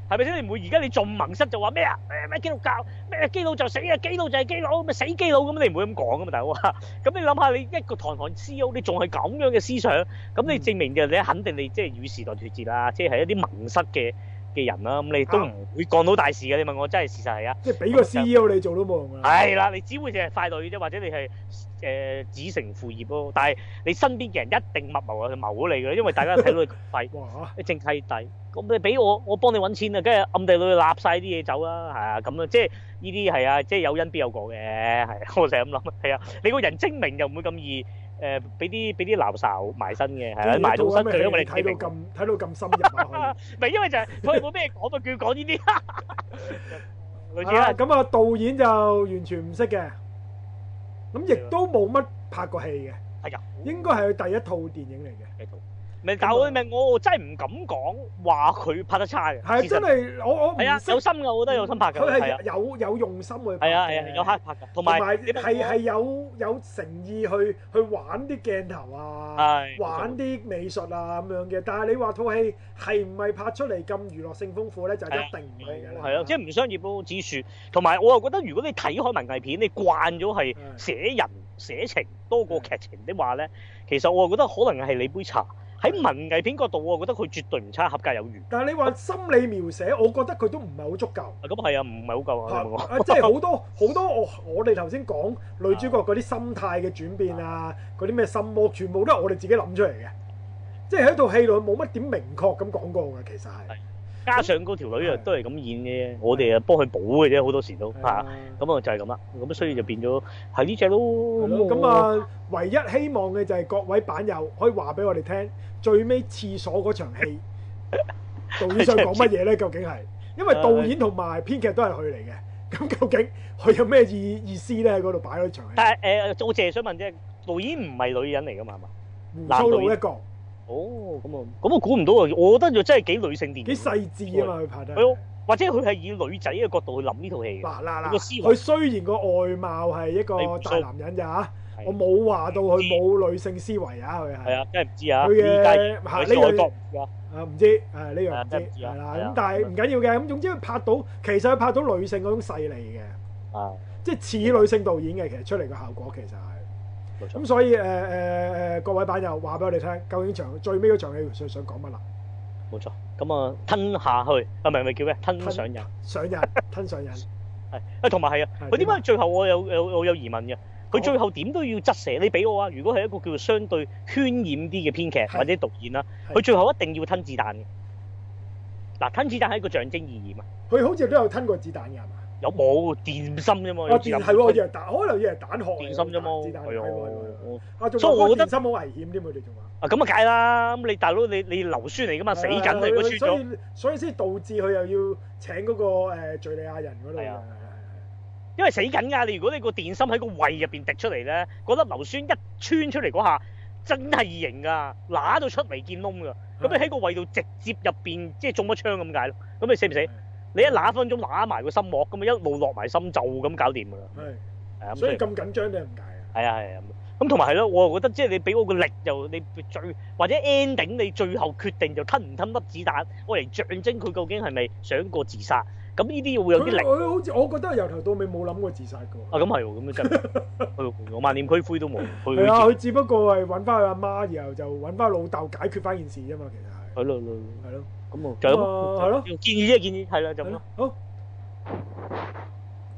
係咪先？你唔會而家你仲盟失就話咩啊？咩咩基督教咩基佬就死啊，基佬就係基佬，咪死基佬咁，你唔會咁講噶嘛，大佬啊！咁你諗下，你一個堂堂 C E O，你仲係咁樣嘅思想，咁你證明就你肯定你即係與時代脫節啦，即係一啲盟失嘅嘅人啦，咁你都唔會幹到大事嘅。你問我真係事實係啊， 即係俾個 C E O 你做都冇用啊。 係啦，你只會淨係傀儡啫，或者你係誒子承父業咯。但係你身邊嘅人一定密謀啊，謀你嘅，因為大家睇到你廢，你淨契弟，咁你俾我，我幫你揾錢啊，跟住暗地裏立晒啲嘢走啦，係啊，咁啊，即係呢啲係啊，即係有因必有果嘅，係我成日咁諗，係啊，你個人精明又唔會咁易。誒俾啲俾啲鬧哨埋身嘅，係啊，埋到身佢，因為你睇到咁睇到咁深入啊， 唔係因為就係佢冇咩講，咪叫佢講呢啲。類似啦， 咁啊導演就完全唔識嘅，咁亦都冇乜拍過戲嘅， 係啊， 應該係佢第一套電影嚟嘅。 咪但係我咪我真係唔敢講話佢拍得差嘅。 係真係我我係啊，有心嘅，我覺得有心拍嘅。 佢係有有用心去拍。 係啊係啊，有黑拍嘅，同埋係係有有誠意去去玩啲鏡頭啊，玩啲美術啊咁樣嘅。但係你話套戲係唔係拍出嚟咁娛樂性豐富咧？就一定唔係㗎啦。 係啊，即係唔商業咯，指數。同埋我又覺得，如果你睇開文藝片，你慣咗係寫人寫情多過劇情的話咧，其實我又覺得可能係你杯茶。喺文藝片角度，我覺得佢絕對唔差，合格有餘。 但係你話心理描寫，我覺得佢都唔係好足夠。 咁係啊，唔係好夠啊！ 啊，即係好多好多我我哋頭先講女主角嗰啲心態嘅轉變啊，嗰啲咩心魔，全部都係我哋自己諗出嚟嘅。即係喺套戲度冇乜點明確咁講過嘅，其實係。 加上嗰條女啊，都係咁演嘅，我哋啊幫佢補嘅啫，好多時都嚇。咁啊就係咁啦，咁所以就變咗係呢隻咯。 咁啊，唯一希望嘅就係各位版友可以話俾我哋聽，最尾廁所嗰場戲，導演想講乜嘢咧？究竟係因為導演同埋編劇都係佢嚟嘅，咁究竟佢有咩意意思咧？喺嗰度擺嗰場戲。 但係誒，我淨係想問啫，導演唔係女人嚟㗎嘛？係嘛？ 胡鬚佬一個。 哦，咁啊，咁我估唔到啊！我覺得就真係幾女性電影， 幾細緻啊嘛，佢拍得。 係咯，或者佢係以女仔嘅角度去諗呢套戲嘅。 嗱嗱嗱，佢雖然個外貌係一個大男人咋嚇，我冇話到佢冇女性思維啊，佢係。係啊，真係唔知啊。 佢嘅嚇呢樣啊唔知，誒呢樣唔知係啦。咁但係唔緊要嘅，咁總之佢拍到，其實佢拍到女性嗰種勢利嘅。啊。即係似女性導演嘅，其實出嚟嘅效果其實係。咁所以誒誒誒各位版友話俾我哋聽，究竟場最尾嗰場戲想想講乜啦？ 冇錯，咁啊吞下去，啊唔係唔係叫咩？吞上癮， 上癮，吞上癮。 係啊，同埋係啊，佢點解最後我有有我有疑問嘅？佢最後點都要側寫，你俾我啊！如果係一個叫做相對渲染啲嘅編劇或者導演啦，佢最後一定要吞子彈嘅。嗱，吞子彈係一個象徵意義嘛。 佢好似都有吞過子彈嘅係嘛？有冇電心啫嘛？ 啊，電係喎，以為彈，可能以為彈殼。電心啫嘛， 子彈係喎。 啊，所以我覺得電心好危險添，佢哋仲話。 啊，咁啊，梗係啦！咁你大佬，你你硫酸嚟噶嘛，死緊嚟嗰穿咗。 所以所以先導致佢又要請嗰個誒敍利亞人嗰度。係啊， 因為死緊㗎！你如果你個電心喺個胃入邊滴出嚟咧，嗰粒硫酸一穿出嚟嗰下，真係異形㗎，揦到出嚟見窿㗎。咁你喺個胃度直接入邊，即係中咗槍咁解咯。咁你死唔死？你一揦分鐘揦埋個心膜，咁啊一路落埋心就咁搞掂㗎啦。係，係啊， 所以咁緊張都係唔解啊。 係啊係啊，咁同埋係咯，我又覺得即係你俾我個力，就你最或者 ending 你最後決定就吞唔吞粒子彈，我嚟象徵佢究竟係咪想過自殺？咁呢啲會有啲力。 佢好似我覺得由頭到尾冇諗過自殺㗎。 啊，咁係喎，咁真係，我萬念俱灰都冇。 係啊，佢只不過係揾翻佢阿媽，然後就揾翻老豆解決翻件事啫嘛，其實係。係咯，係咯。咁啊，就咁。係咯。建議啫，建議係啦，就咁咯。好。